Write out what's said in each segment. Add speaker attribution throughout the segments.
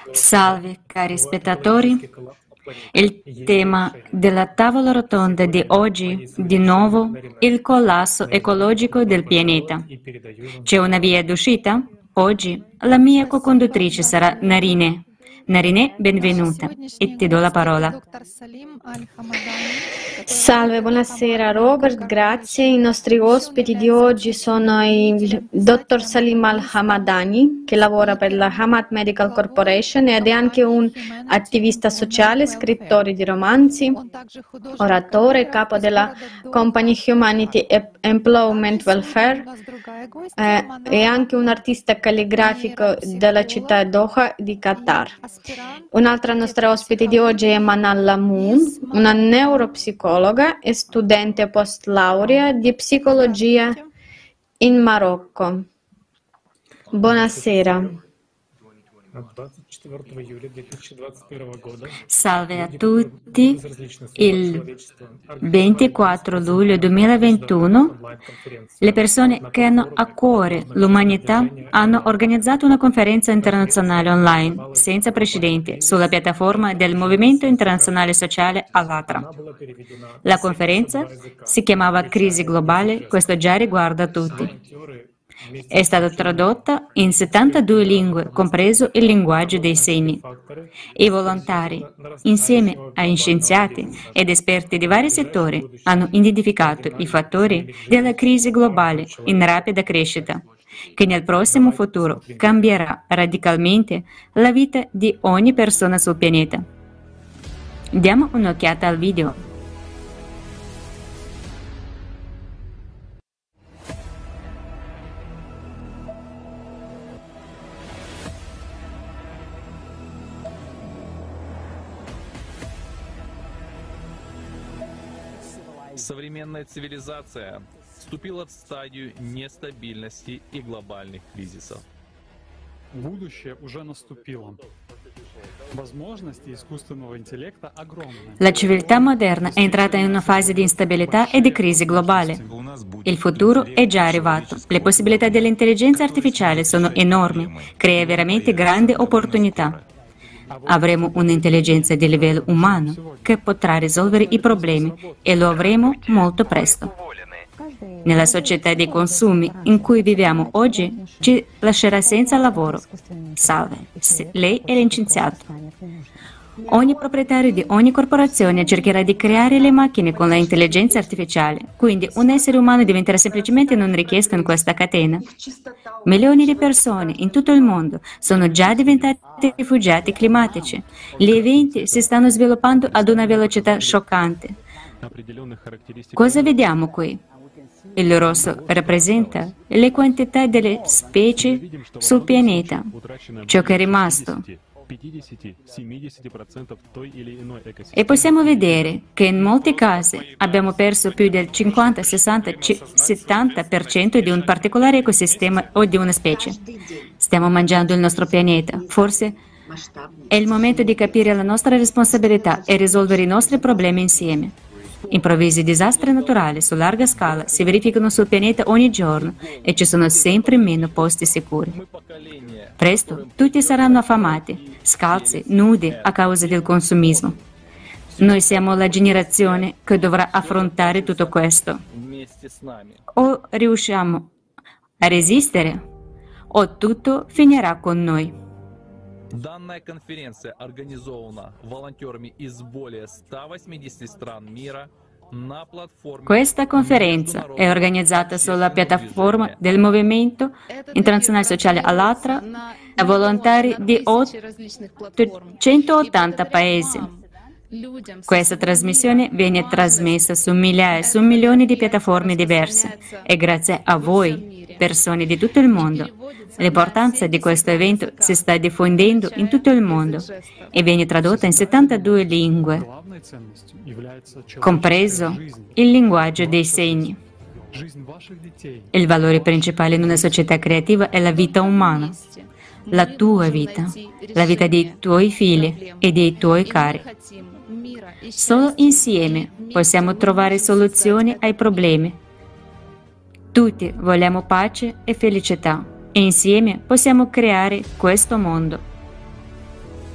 Speaker 1: Salve cari spettatori, il tema della tavola rotonda di oggi, di nuovo, il collasso ecologico del pianeta. C'è una via d'uscita? Oggi la mia co-conduttrice sarà Narine. Narine, benvenuta e ti do la parola.
Speaker 2: Salve, buonasera Robert, grazie. I nostri ospiti di oggi sono il dottor Salim Al-Hamadani, che lavora per la Hamad Medical Corporation ed è anche un attivista sociale, scrittore di romanzi, oratore, capo della Company Humanity Employment Welfare e anche un artista calligrafico della città Doha di Qatar. Un'altra nostra ospite di oggi è Manal Lamoun, una neuropsicologa e studente post laurea di psicologia in Marocco. Buonasera.
Speaker 1: Salve a tutti. Il 24 luglio 2021 le persone che hanno a cuore l'umanità hanno organizzato una conferenza internazionale online senza precedenti sulla piattaforma del Movimento Internazionale Sociale Allatra. La conferenza si chiamava Crisi Globale, questo già riguarda tutti. È stata tradotta in 72 lingue, compreso il linguaggio dei segni. I volontari, insieme a scienziati ed esperti di vari settori, hanno identificato i fattori della crisi globale in rapida crescita, che nel prossimo futuro cambierà radicalmente la vita di ogni persona sul pianeta. Diamo un'occhiata al video.
Speaker 3: Современная цивилизация вступила в стадию нестабильности и глобальных кризисов.
Speaker 4: Будущее уже наступило. Возможности искусственного интеллекта огромны.
Speaker 1: La civiltà moderna è entrata in una fase di instabilità e di crisi globale. Il futuro è già arrivato. Le possibilità dell'intelligenza artificiale sono enormi, crea veramente grandi opportunità. Avremo un'intelligenza di livello umano che potrà risolvere i problemi e lo avremo molto presto. Nella società dei consumi in cui viviamo oggi ci lascerà senza lavoro. Salve, lei è l'inscienziato. Ogni proprietario di ogni corporazione cercherà di creare le macchine con l'intelligenza artificiale, quindi un essere umano diventerà semplicemente non richiesto in questa catena. Milioni di persone in tutto il mondo sono già diventati rifugiati climatici. Gli eventi si stanno sviluppando ad una velocità scioccante. Cosa vediamo qui? Il rosso rappresenta le quantità delle specie sul pianeta, ciò che è rimasto. E possiamo vedere che in molti casi abbiamo perso più del 50, 60, 70% di un particolare ecosistema o di una specie. Stiamo mangiando il nostro pianeta. Forse è il momento di capire la nostra responsabilità e risolvere i nostri problemi insieme. Improvvisi disastri naturali su larga scala si verificano sul pianeta ogni giorno e ci sono sempre meno posti sicuri. Presto tutti saranno affamati, scalzi, nudi a causa del consumismo. Noi siamo la generazione che dovrà affrontare tutto questo. O riusciamo a resistere, o tutto finirà con noi.
Speaker 3: Данная конференция организована волонтерами из более 180 стран мира на платформе.
Speaker 1: Questa conferenza è organizzata sulla piattaforma del Movimento Internazionale Sociale Allatra da volontari di 180 paesi. Questa trasmissione viene trasmessa su migliaia, su milioni di piattaforme diverse e grazie a voi, persone di tutto il mondo. L'importanza di questo evento si sta diffondendo in tutto il mondo e viene tradotta in 72 lingue, compreso il linguaggio dei segni. Il valore principale in una società creativa è la vita umana, la tua vita, la vita dei tuoi figli e dei tuoi cari. Solo insieme possiamo trovare soluzioni ai problemi. Tutti vogliamo pace e felicità e insieme possiamo creare questo mondo.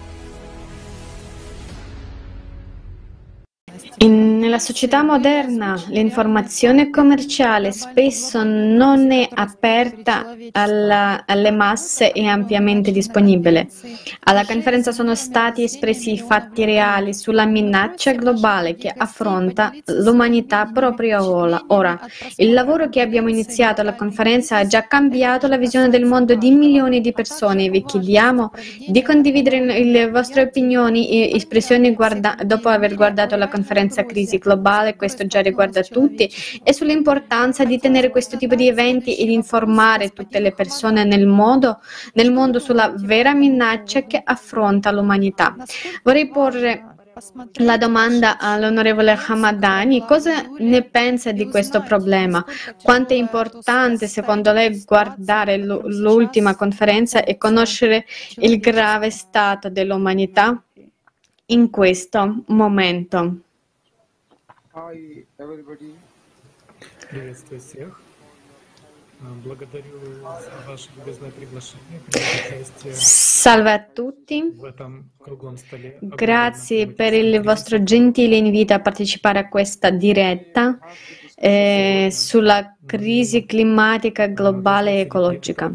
Speaker 2: Nella società moderna l'informazione commerciale spesso non è aperta alle masse e ampiamente disponibile. Alla conferenza sono stati espressi fatti reali sulla minaccia globale che affronta l'umanità proprio ora. Il lavoro che abbiamo iniziato alla conferenza ha già cambiato la visione del mondo di milioni di persone. Vi chiediamo di condividere le vostre opinioni e espressioni dopo aver guardato la conferenza Crisi Globale, questo già riguarda tutti, e sull'importanza di tenere questo tipo di eventi e di informare tutte le persone nel mondo sulla vera minaccia che affronta l'umanità. Vorrei porre la domanda all'onorevole Hamadani: cosa ne pensa di questo problema? Quanto è importante secondo lei guardare l'ultima conferenza e conoscere il grave stato dell'umanità in questo momento?
Speaker 5: Hi, everybody.
Speaker 6: Приветствую всех. Благодарю за ваше любезное приглашение принять участие
Speaker 2: Salve a tutti.
Speaker 6: в этом круглом столе.
Speaker 2: Grazie per il vostro gentile invito a partecipare a questa diretta sulla crisi climatica globale e ecologica.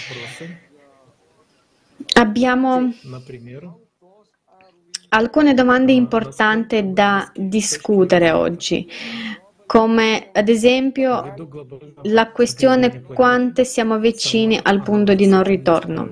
Speaker 2: Abbiamo
Speaker 6: Например,
Speaker 2: alcune domande importanti da discutere oggi, come ad esempio
Speaker 6: ввиду глобального
Speaker 2: la questione quanto siamo vicini al punto di non ritorno.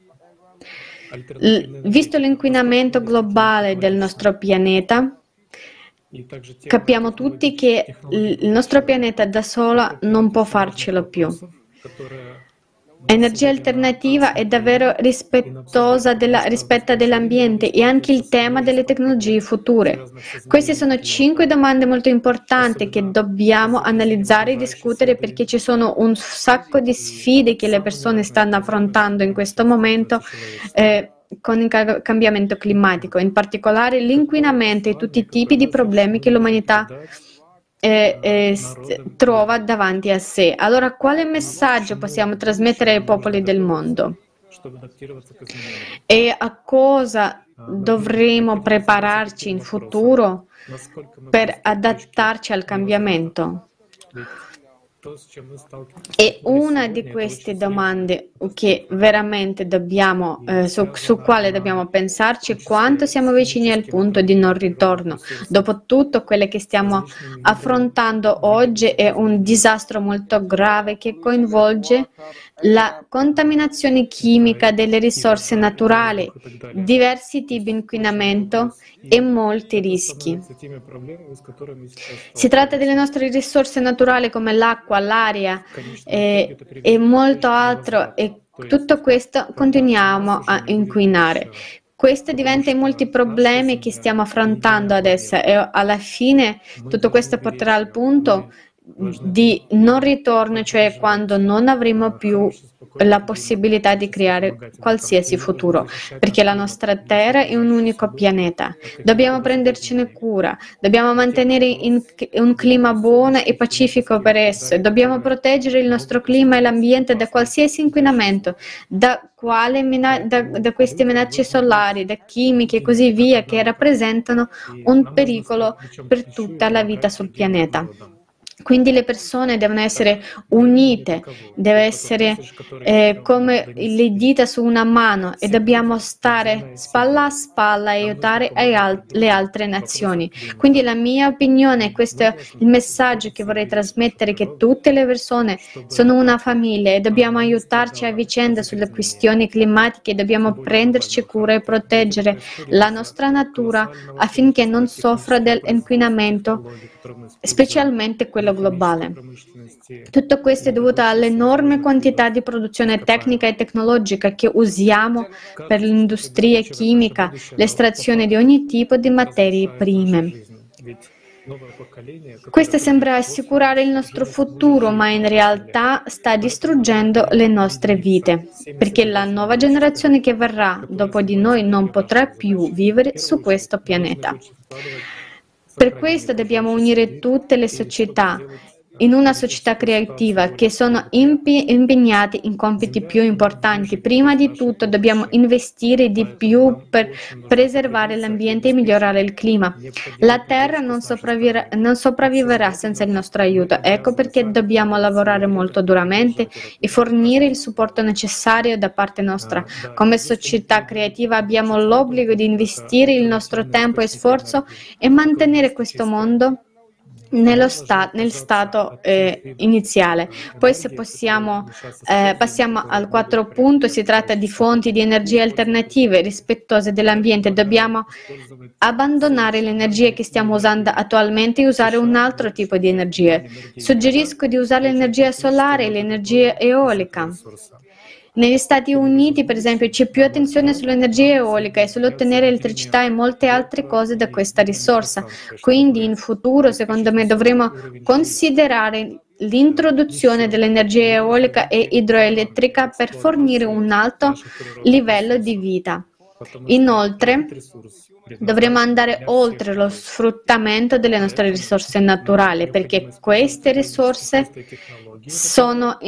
Speaker 2: Visto l'inquinamento globale del nostro pianeta,
Speaker 6: и также те
Speaker 2: capiamo tutti che il nostro pianeta da sola non può farcelo più.
Speaker 6: которые
Speaker 2: Energia alternativa è davvero rispetta dell'ambiente e anche il tema delle tecnologie future. Queste sono 5 domande molto importanti che dobbiamo analizzare e discutere, perché ci sono un sacco di sfide che le persone stanno affrontando in questo momento con il cambiamento climatico, in particolare l'inquinamento e tutti i tipi di problemi che l'umanità trova davanti a sé. Allora, quale messaggio possiamo trasmettere ai popoli del mondo?
Speaker 6: чтобы адаптироваться к изменениям.
Speaker 2: E a cosa dovremo prepararci in futuro
Speaker 6: Насколько мы
Speaker 2: per adattarci al cambiamento?
Speaker 6: ведь то, с чем мы сталкиваемся
Speaker 2: E una di queste domande che veramente dobbiamo, su quale dobbiamo pensarci è quanto siamo vicini al punto di non ritorno. Dopotutto, quelle che stiamo affrontando oggi è un disastro molto grave che coinvolge la contaminazione chimica delle risorse naturali, diversi tipi di inquinamento e molti rischi.
Speaker 6: с теми проблемами, с которыми сейчас
Speaker 2: Si tratta delle nostre risorse naturali come l'acqua, l'aria e molto altro, e tutto questo continuiamo a inquinare. Questo diventa i molti problemi che stiamo affrontando adesso, e alla fine tutto questo porterà al punto di non ritorno, cioè quando non avremo più la possibilità di creare qualsiasi futuro, perché la nostra Terra è un unico pianeta. Dobbiamo prendercene cura, dobbiamo mantenere un clima buono e pacifico per esso, e dobbiamo proteggere il nostro clima e l'ambiente da qualsiasi inquinamento, da queste minacce solari, da chimiche e così via, che rappresentano un pericolo per tutta la vita sul pianeta. Quindi le persone devono essere unite, deve essere come le dita su una mano, e dobbiamo stare spalla a spalla e aiutare le altre nazioni. Quindi la mia opinione, questo è il messaggio che vorrei trasmettere, che tutte le persone sono una famiglia e dobbiamo aiutarci a vicenda sulle questioni climatiche, dobbiamo prenderci cura e proteggere la nostra natura affinché non soffra dell'inquinamento, specialmente quello globale. Tutto questo è dovuto all'enorme quantità di produzione tecnica e tecnologica che usiamo per l'industria chimica, l'estrazione di ogni tipo di materie prime. Questo sembra assicurare il nostro futuro, ma in realtà sta distruggendo le nostre vite, perché la nuova generazione che verrà dopo di noi non potrà più vivere su questo pianeta. Per questo dobbiamo unire tutte le società in una società creativa che sono impegnati in compiti più importanti. Prima di tutto dobbiamo investire di più per preservare l'ambiente e migliorare il clima. La Terra non sopravviverà senza il nostro aiuto. Ecco perché dobbiamo lavorare molto duramente e fornire il supporto necessario da parte nostra. Come società creativa abbiamo l'obbligo di investire il nostro tempo e sforzo e mantenere questo mondo nel stato iniziale. Poi se passiamo al quarto punto, si tratta di fonti di energia alternative rispettose dell'ambiente. Dobbiamo abbandonare l'energia che stiamo usando attualmente e usare un altro tipo di energia. Suggerisco di usare l'energia solare e l'energia eolica. Negli Stati Uniti, per esempio, c'è più attenzione sull'energia eolica e sull'ottenere elettricità e molte altre cose da questa risorsa. Quindi in futuro, secondo me, dovremo considerare l'introduzione dell'energia eolica e idroelettrica per fornire un alto livello di vita. Inoltre, dovremo andare oltre lo sfruttamento delle nostre risorse naturali, perché queste risorse sono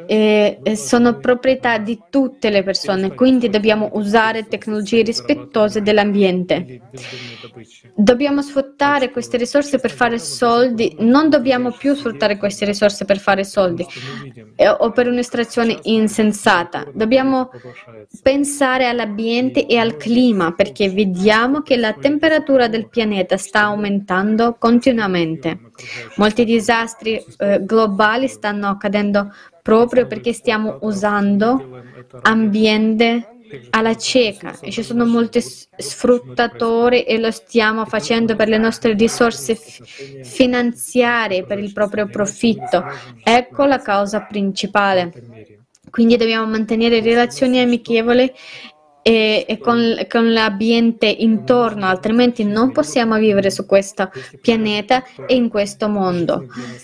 Speaker 2: proprietà di tutte le persone, quindi dobbiamo usare tecnologie rispettose dell'ambiente. Dobbiamo sfruttare queste risorse per fare soldi, non dobbiamo più sfruttare queste risorse per fare soldi o per un'estrazione insensata. Dobbiamo pensare all'ambiente e al clima, perché vediamo che la temperatura del pianeta sta aumentando continuamente. Molti disastri globali stanno accadendo proprio perché stiamo usando ambiente alla cieca e ci sono molti sfruttatori e lo stiamo facendo per le nostre risorse finanziarie, per il proprio profitto. Ecco la causa principale. Quindi dobbiamo mantenere relazioni amichevoli e con l'ambiente intorno, altrimenti non possiamo vivere su questo pianeta e in questo mondo.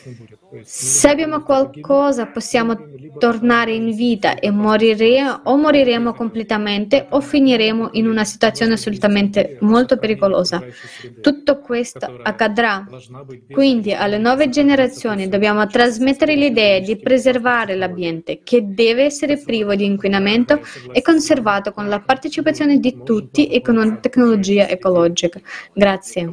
Speaker 2: Se abbiamo qualcosa, possiamo tornare in vita e moriremo completamente o finiremo in una situazione assolutamente molto pericolosa. Tutto questo accadrà. Quindi alle nuove generazioni dobbiamo trasmettere l'idea di preservare l'ambiente, che deve essere privo di inquinamento e conservato con la partecipazione di tutti e con una tecnologia ecologica. Grazie.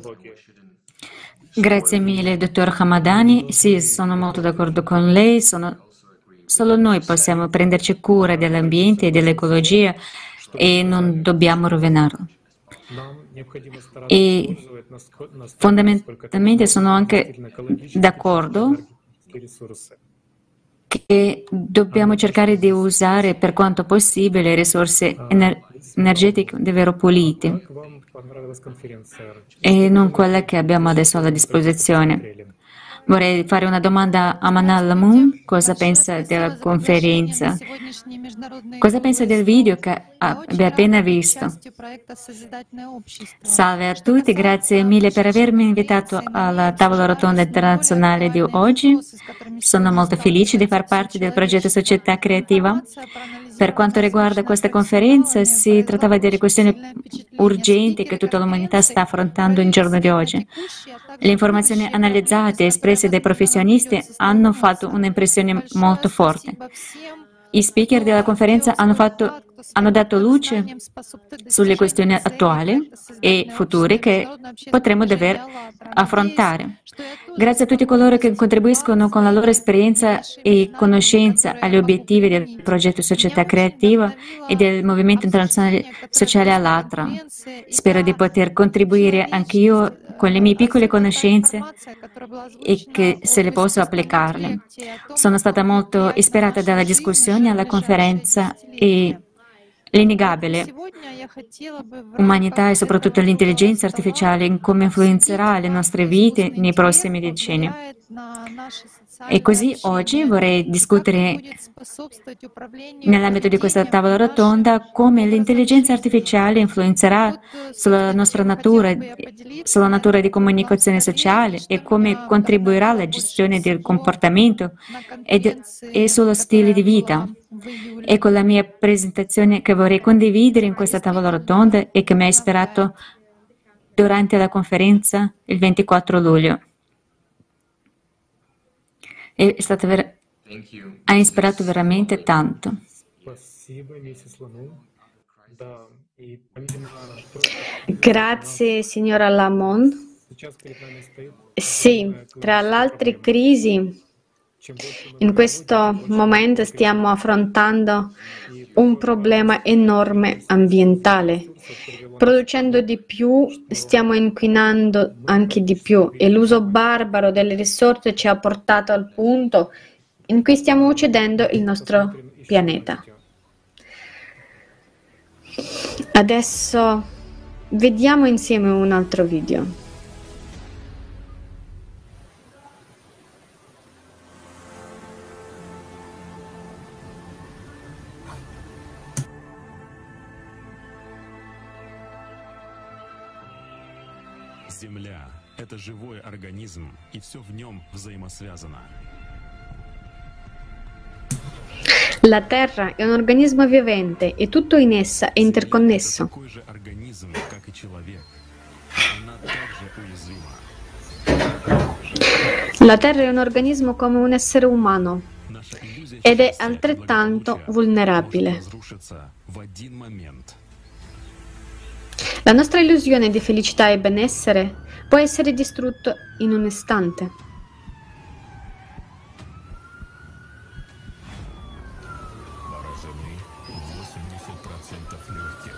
Speaker 1: Grazie mille, dottor Hamadani. Sì, sono molto d'accordo con lei. Solo noi possiamo prenderci cura dell'ambiente e dell'ecologia e non dobbiamo rovinarlo. E fondamentalmente sono anche d'accordo che dobbiamo cercare di usare per quanto possibile risorse energetiche davvero pulite e non quelle che abbiamo adesso alla disposizione. Vorrei fare una domanda a Manal Lamoon. Cosa pensa della conferenza? Cosa pensa del video che abbia appena visto? Salve a tutti, grazie mille per avermi invitato alla tavola rotonda internazionale di oggi. Sono molto felice di far parte del progetto Società Creativa. Per quanto riguarda questa conferenza, si trattava di questioni urgenti che tutta l'umanità sta affrontando in giorno di oggi. Le informazioni analizzate e espresse dai professionisti hanno fatto un'impressione molto forte. I speaker della conferenza hanno dato luce sulle questioni attuali e future che potremo dover affrontare. Grazie a tutti coloro che contribuiscono con la loro esperienza e conoscenza agli obiettivi del progetto Società Creativa e del Movimento Internazionale Sociale Allatra. Spero di poter contribuire anch'io con le mie piccole conoscenze e che se le posso applicarle. Sono stata molto ispirata dalla discussione alla conferenza e l'innegabile umanità e soprattutto l'intelligenza artificiale in come influenzerà le nostre vite nei prossimi decenni. E così oggi vorrei discutere nell'ambito di questa tavola rotonda come l'intelligenza artificiale influenzerà sulla nostra natura, sulla natura di comunicazione sociale e come contribuirà alla gestione del comportamento e sullo stile di vita. Ecco la mia presentazione che vorrei condividere in questa tavola rotonda e che mi ha ispirato durante la conferenza il 24 luglio. Ha ispirato veramente tanto.
Speaker 6: Спасибо, миссис Ламон. Да, и помимо
Speaker 2: Grazie, signora Lamont.
Speaker 6: сейчас перед нами стоит
Speaker 2: Sì, tra le altre crisi,
Speaker 6: чем больше мы
Speaker 2: in questo momento stiamo affrontando un problema enorme ambientale. Producendo di più, stiamo inquinando anche di più e l'uso barbaro delle risorse ci ha portato al punto in cui stiamo uccidendo il nostro pianeta. Adesso vediamo insieme un altro video.
Speaker 7: Земля — это живой организм, и все в нем взаимосвязано.
Speaker 2: La Terra è un organismo vivente e tutto in essa è interconnesso.
Speaker 7: Такой же организм, как и человек. Она также уязвима.
Speaker 2: La Terra è un organismo come un essere umano
Speaker 7: Наша иллюзия
Speaker 2: ed è
Speaker 7: счастья,
Speaker 2: altrettanto
Speaker 7: благополучия
Speaker 2: vulnerabile.
Speaker 7: может разрушиться в один момент.
Speaker 2: La nostra illusione di felicità e benessere può essere distrutta in un istante.
Speaker 7: Поражены 80% легких.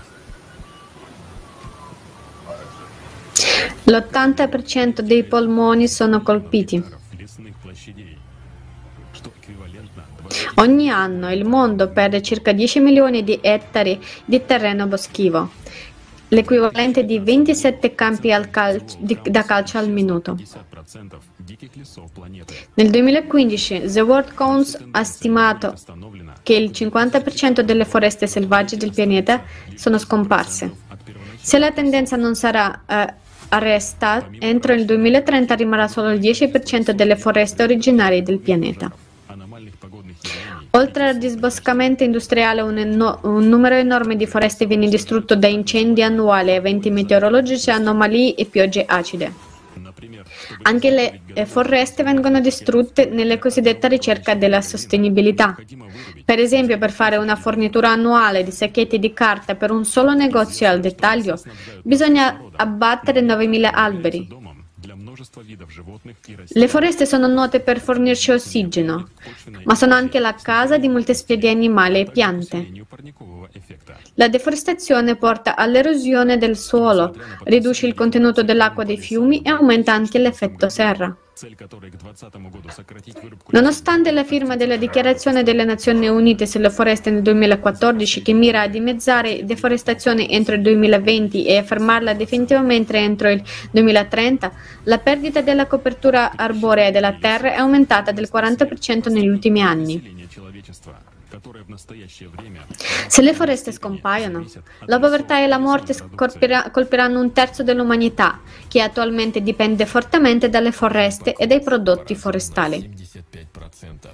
Speaker 2: L'80% dei polmoni sono colpiti.
Speaker 7: Лесных площадей, что эквивалентно 20
Speaker 2: Ogni anno il mondo perde circa 10 milioni di ettari di terreno boschivo, l'equivalente di 27 campi da calcio al minuto.
Speaker 7: 50% диких лесов планеты.
Speaker 2: Nel 2015 The World Council ha stimato
Speaker 7: Установлено
Speaker 2: che il 50% delle foreste selvagge del pianeta sono scomparse.
Speaker 7: от первоначального
Speaker 2: Se la tendenza non sarà arrestata, entro il 2030 rimarrà solo il 10% delle foreste originarie del pianeta.
Speaker 7: аномальных погодных явлений.
Speaker 2: Oltre al disboscamento industriale, un numero enorme di foreste viene distrutto da incendi annuali, eventi meteorologici, anomalie e piogge acide.
Speaker 7: Например, чтобы
Speaker 2: Anche le foreste vengono distrutte nella cosiddetta ricerca della sostenibilità.
Speaker 7: необходимо вырубить
Speaker 2: Per esempio, per fare una fornitura annuale di sacchetti di carta per un solo negozio al dettaglio, bisogna abbattere 9.000 alberi.
Speaker 7: домом для множества видов животных и растений.
Speaker 2: Le foreste sono note per fornirci ossigeno, ma sono anche la casa di molte specie animali e piante.
Speaker 7: Усилению парникового эффекта.
Speaker 2: La deforestazione porta all'erosione del suolo, riduce il contenuto dell'acqua dei fiumi e aumenta anche l'effetto serra.
Speaker 7: Цель которой к 2020 году сократить вырубку
Speaker 2: Nonostante la firma della Dichiarazione delle Nazioni Unite sulle foreste nel 2014, che mira a dimezzare deforestazione entro il 2020 e a fermarla definitivamente entro il 2030, la perdita della copertura arborea della terra è aumentata del 40% negli ultimi anni.
Speaker 7: населения человечества, которое в настоящее время
Speaker 2: Se le foreste scompaiono, la povertà e la morte colpiranno un terzo dell'umanità, che attualmente dipende fortemente dalle foreste e dai prodotti forestali.
Speaker 7: 75%.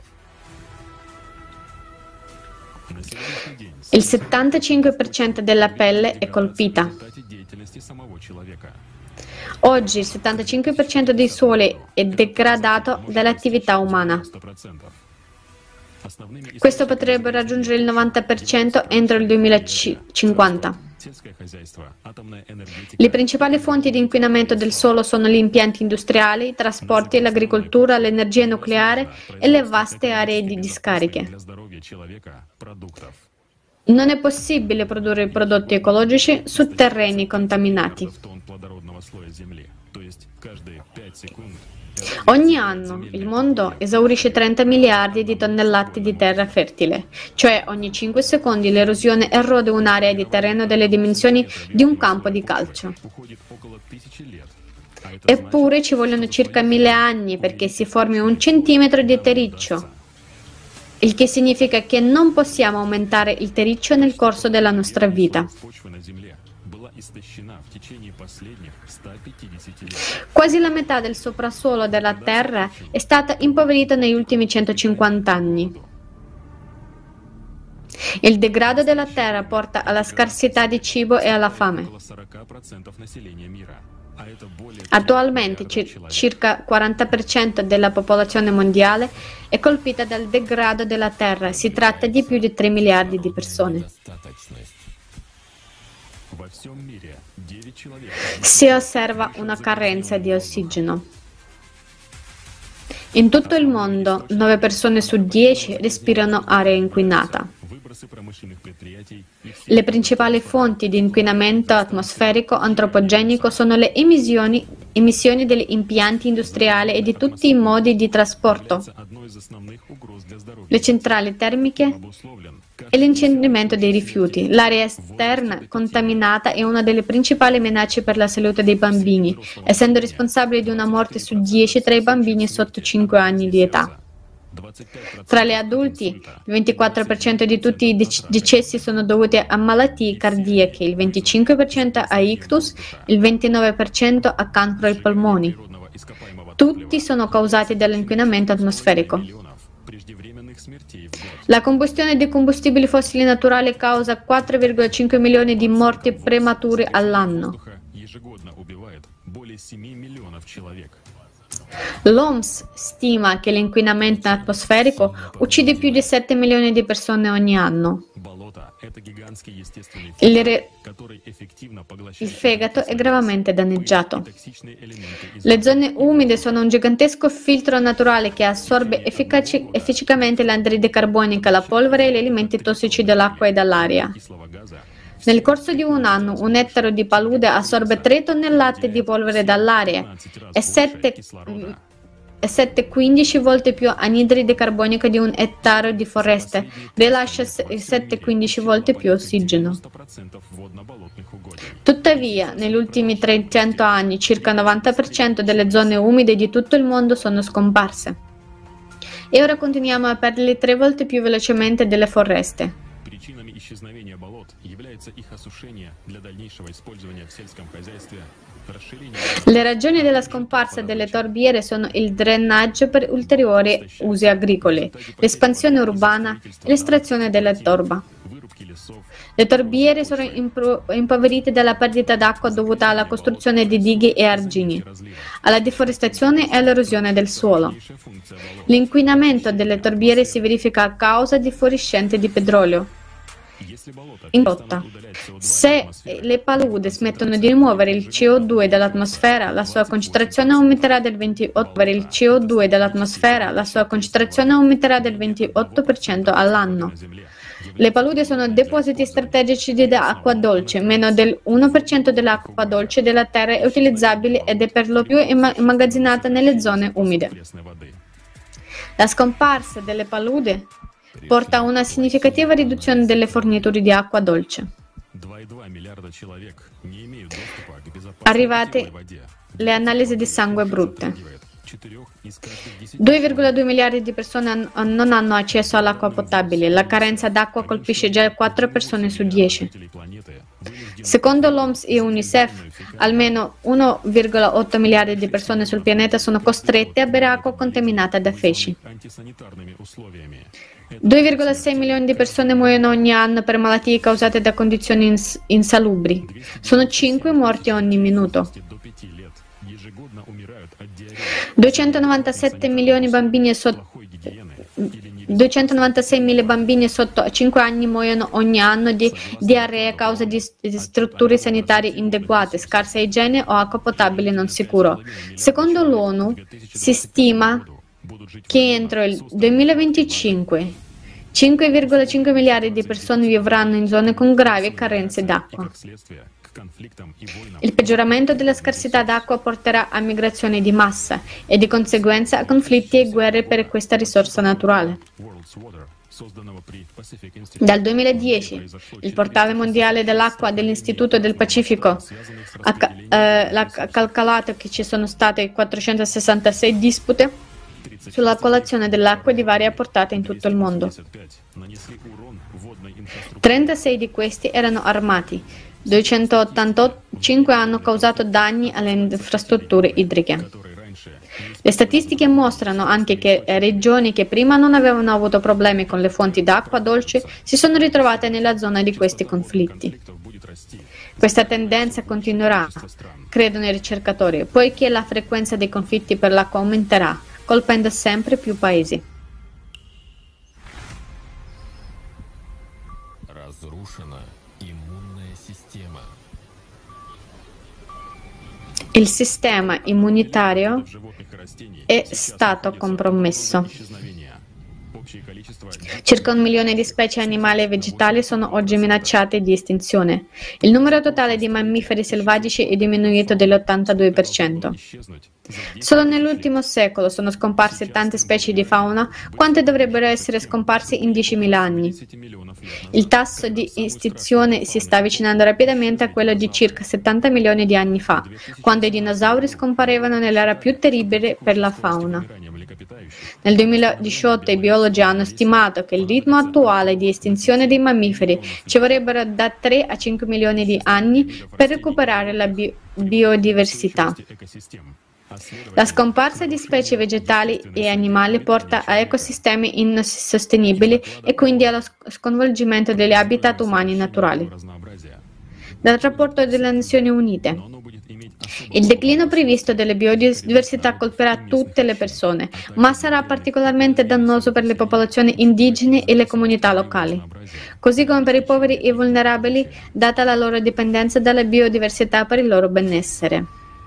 Speaker 7: На сегодняшний день
Speaker 2: Il 75% della pelle è colpita.
Speaker 7: в результате деятельности самого человека.
Speaker 2: Oggi il 75% dei suoli è degradato dall'attività umana.
Speaker 7: 100%. Основными
Speaker 2: Questo potrebbe raggiungere il 90% entro il 2050.
Speaker 7: сельское хозяйство, атомная энергетика,
Speaker 2: Le principali fonti di inquinamento del suolo sono gli impianti industriali, i trasporti, l'agricoltura, l'energia nucleare e le vaste aree di discariche.
Speaker 7: для здоровья человека продуктов.
Speaker 2: Non è possibile produrre prodotti ecologici su terreni contaminati.
Speaker 7: В тонн плодородного слоя земли, то есть каждые 5 секунд.
Speaker 2: Ogni anno il mondo esaurisce 30 miliardi di tonnellate di terra fertile, cioè ogni 5 secondi l'erosione erode un'area di terreno delle dimensioni di un campo di calcio.
Speaker 7: Уходит около 1000 лет. А это
Speaker 2: Eppure ci vogliono circa 1000 anni perché si formi un centimetro di terriccio, il che significa che non possiamo aumentare il terriccio nel corso della nostra vita.
Speaker 7: почва на земле была истощена в течение последних 150 лет.
Speaker 2: Quasi la metà del soprassuolo della Terra è stata impoverita negli ultimi 150 anni. Il degrado della Terra porta alla scarsità di cibo e alla fame.
Speaker 7: Около 40% населения мира.
Speaker 2: Attualmente circa 40% della popolazione mondiale è colpita dal degrado della Terra. Si tratta di più di 3 miliardi di persone. Si osserva una carenza di ossigeno. In tutto il mondo, 9 persone su 10 respirano aria inquinata. Le principali fonti di inquinamento atmosferico antropogenico sono le emissioni degli impianti industriali e di tutti i modi di trasporto, le centrali termiche e l'incenerimento dei rifiuti. L'aria esterna contaminata è una delle principali minacce per la salute dei bambini, essendo responsabile di una morte su 10 tra i bambini sotto 5 anni di età. Tra gli adulti, il 24% di tutti i decessi sono dovuti a malattie cardiache, il 25% a ictus, il 29% a cancro ai polmoni. Tutti sono causati dall'inquinamento atmosferico. La combustione di combustibili fossili naturali causa 4,5 milioni di morti premature all'anno. L'OMS stima che l'inquinamento atmosferico uccide più di 7 milioni di persone ogni anno. Il fegato è gravemente danneggiato. Le zone umide sono un gigantesco filtro naturale che assorbe efficacemente l'anidride carbonica, la polvere e gli elementi tossici dall'acqua e dall'aria. Nel corso di un anno, un ettaro di palude assorbe 3 tonnellate di polvere dall'aria e 7-15 volte più anidride carbonica di un ettaro di foresta, rilascia 7-15 volte più ossigeno. Tuttavia, negli ultimi 300 anni, circa il 90% delle zone umide di tutto il mondo sono scomparse. E ora continuiamo a perdere 3 volte più velocemente delle foreste.
Speaker 7: Причинами исчезновения болот является их осушение для дальнейшего использования в сельском хозяйстве, расширение...
Speaker 2: Le ragioni della scomparsa delle torbiere sono il drenaggio per ulteriori usi agricoli, l'espansione urbana e l'estrazione della torba. Le torbiere sono impoverite dalla perdita d'acqua dovuta alla costruzione di dighe e argini, alla deforestazione e all'erosione del suolo. L'inquinamento delle torbiere si verifica a causa di fuoriuscite di petrolio in rotta. Se le paludi smettono di rimuovere il CO2 dall'atmosfera, la sua concentrazione aumenterà del 28% all'anno. Le paludi sono depositi strategici di acqua dolce. Meno del 1% dell'acqua dolce della Terra è utilizzabile ed è per lo più immagazzinata nelle zone umide. La scomparsa delle paludi porta a una significativa riduzione delle forniture di acqua dolce. Arrivate le analisi di sangue brutte. 2,2 miliardi di persone non hanno accesso all'acqua potabile. La carenza d'acqua colpisce già 4 persone su 10. Secondo l'OMS e UNICEF, almeno 1,8 miliardi di persone sul pianeta sono costrette a bere acqua contaminata da feci. 2,6 milioni di persone muoiono ogni anno per malattie causate da condizioni insalubri. Sono 5 morti ogni minuto. 296.000 bambini sotto 5 anni muoiono ogni anno di diarrea a causa di strutture sanitarie inadeguate, scarsa igiene o acqua potabile non sicuro. Secondo l'ONU si stima che entro il 2025 5,5 miliardi di persone vivranno in zone con gravi carenze d'acqua. Il peggioramento della scarsità d'acqua porterà a migrazioni di massa e di conseguenza a conflitti e guerre per questa risorsa naturale. Dal 2010 il portale mondiale dell'acqua dell'Istituto del Pacifico ha calcolato che ci sono state 466 dispute sulla colazione dell'acqua di varia portata in tutto il mondo. 36 di questi erano armati, 285 hanno causato danni alle infrastrutture idriche. Le statistiche mostrano anche che regioni che prima non avevano avuto problemi con le fonti d'acqua dolce si sono ritrovate nella zona di questi conflitti. Questa tendenza continuerà, credono i ricercatori, poiché la frequenza dei conflitti per l'acqua aumenterà, colpendo sempre più paesi.
Speaker 7: Разрушена иммунная система.
Speaker 2: Il sistema immunitario
Speaker 7: Животных и растений
Speaker 2: è
Speaker 7: сейчас
Speaker 2: stato
Speaker 7: находится
Speaker 2: compromesso.
Speaker 7: на грани исчезновения. Общее количество
Speaker 2: Circa 1 milione di specie animali e vegetali sono oggi minacciate di estinzione. Il numero totale di mammiferi selvatici è diminuito dell'82%.
Speaker 7: исчезнуть за 10
Speaker 2: Solo nell'ultimo secolo sono scomparse tante specie di fauna quante dovrebbero essere scomparse in 10.000 anni.
Speaker 7: 10 миллионов лет
Speaker 2: Il
Speaker 7: назад.
Speaker 2: tasso di estinzione si sta avvicinando rapidamente a quello di circa 70 milioni di anni fa, quando i dinosauri scomparevano nell'era più terribile per la fauna.
Speaker 7: Вымиранием млекопитающих
Speaker 2: Nel 2018 i biologi hanno stimato che il ritmo attuale di estinzione dei mammiferi ci vorrebbero da 3 a 5 milioni di anni per recuperare la biodiversità.
Speaker 7: экосистем.
Speaker 2: La scomparsa di specie vegetali e animali porta a ecosistemi insostenibili e quindi allo sconvolgimento degli habitat umani naturali.
Speaker 7: Разнообразия.
Speaker 2: Dal rapporto delle Nazioni Unite,
Speaker 7: Но оно будет иметь особый
Speaker 2: il declino previsto delle biodiversità colpirà tutte le persone, ma sarà particolarmente dannoso per le popolazioni indigene e le comunità locali, così come per i poveri e vulnerabili, data la loro dipendenza dalla biodiversità per il loro benessere.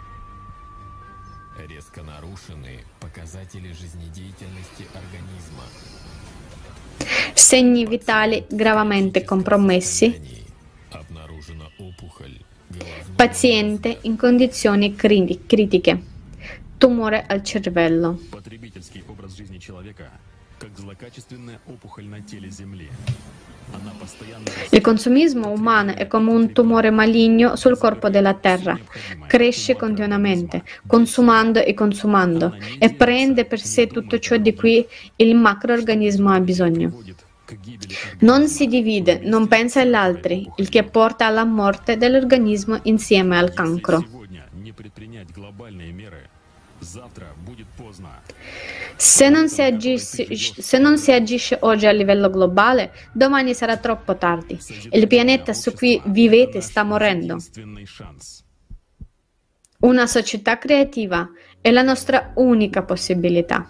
Speaker 7: резко нарушены показатели жизнедеятельности организма.
Speaker 2: Segni vitali gravemente compromessi,
Speaker 7: Обнаружена опухоль головного
Speaker 2: paziente in condizioni critiche, tumore al cervello.
Speaker 7: Потребительский образ жизни человека как злокачественная опухоль на теле Земли. Она постоянно
Speaker 2: Il consumismo umano è come un tumore maligno sul corpo della terra. Cresce continuamente, consumando e consumando, e prende per sé tutto ciò di cui il macroorganismo ha bisogno.
Speaker 7: приводит к гибели
Speaker 2: Non si divide, non pensa agli altri, il che porta alla morte dell'organismo insieme al cancro.
Speaker 7: Сегодня не предпринять глобальные меры, завтра будет поздно.
Speaker 2: Se non si agisce oggi a livello globale, domani sarà troppo tardi. Il pianeta su cui vivete sta morendo.
Speaker 7: Единственный шанс.
Speaker 2: Una società creativa è la nostra unica possibilità.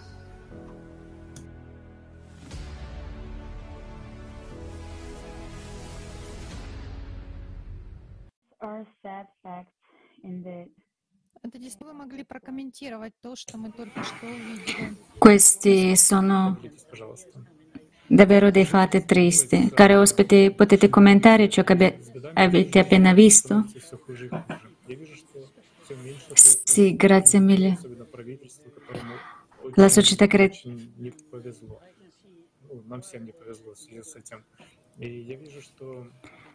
Speaker 8: Are sad facts in the
Speaker 9: Это действительно вы могли прокомментировать то, что мы только что увидели.
Speaker 1: Questi sono
Speaker 6: Поделитесь, пожалуйста.
Speaker 1: davvero dei fatti tristi. Cari ospiti, potete commentare ciò che avete appena visto?
Speaker 6: Все хуже и хуже. Я вижу, что все меньше,
Speaker 1: Sì, grazie mille.
Speaker 6: особенно правительству, которому
Speaker 1: La società
Speaker 6: очень не повезло. Ну, нам всем не повезло в связи с этим. И я вижу, что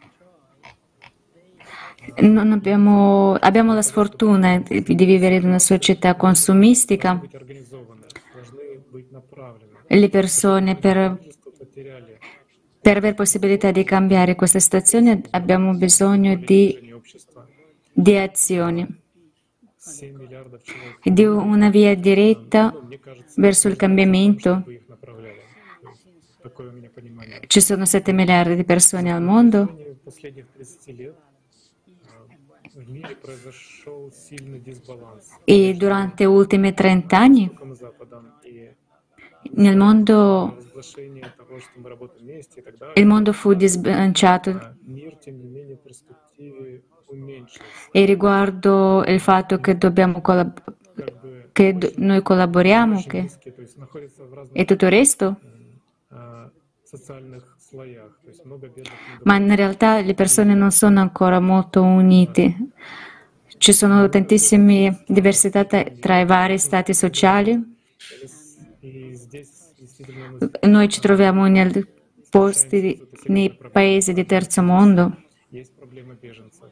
Speaker 1: abbiamo la sfortuna di vivere in una società consumistica.
Speaker 6: быть организованы, должны быть направлены.
Speaker 1: Le persone,
Speaker 6: Правительство потеряли
Speaker 1: per aver possibilità di cambiare questa situazione, abbiamo bisogno
Speaker 6: движение общества.
Speaker 1: di azioni,
Speaker 6: 7 миллиардов человек.
Speaker 1: di una via diretta
Speaker 6: Ну, мне кажется,
Speaker 1: verso il cambiamento.
Speaker 6: чтобы их направляли. То есть такое у меня понимание.
Speaker 1: Ci sono 7 miliardi di persone al mondo.
Speaker 6: В течение последних 30 лет в мире произошел сильный дисбаланс
Speaker 1: E durante gli ultimi 30 anni
Speaker 6: Востоком и Западом, и
Speaker 1: nel mondo
Speaker 6: разглашение того, что мы работаем вместе и так далее,
Speaker 1: il mondo fu disbilanciato
Speaker 6: мир, тем не менее, в перспективе уменьшился.
Speaker 1: e riguardo il fatto che dobbiamo
Speaker 6: Как бы
Speaker 1: noi collaboriamo
Speaker 6: очень низкий, то есть находится в разных
Speaker 1: e tutto il resto,
Speaker 6: социальных слоях, то есть много бедных, много
Speaker 1: ma in realtà le persone non sono ancora molto unite. Ci sono tantissime diversità tra i vari stati sociali.
Speaker 6: И здесь действительно мы
Speaker 1: Noi ci troviamo nei paesi di terzo mondo
Speaker 6: есть проблема беженцев.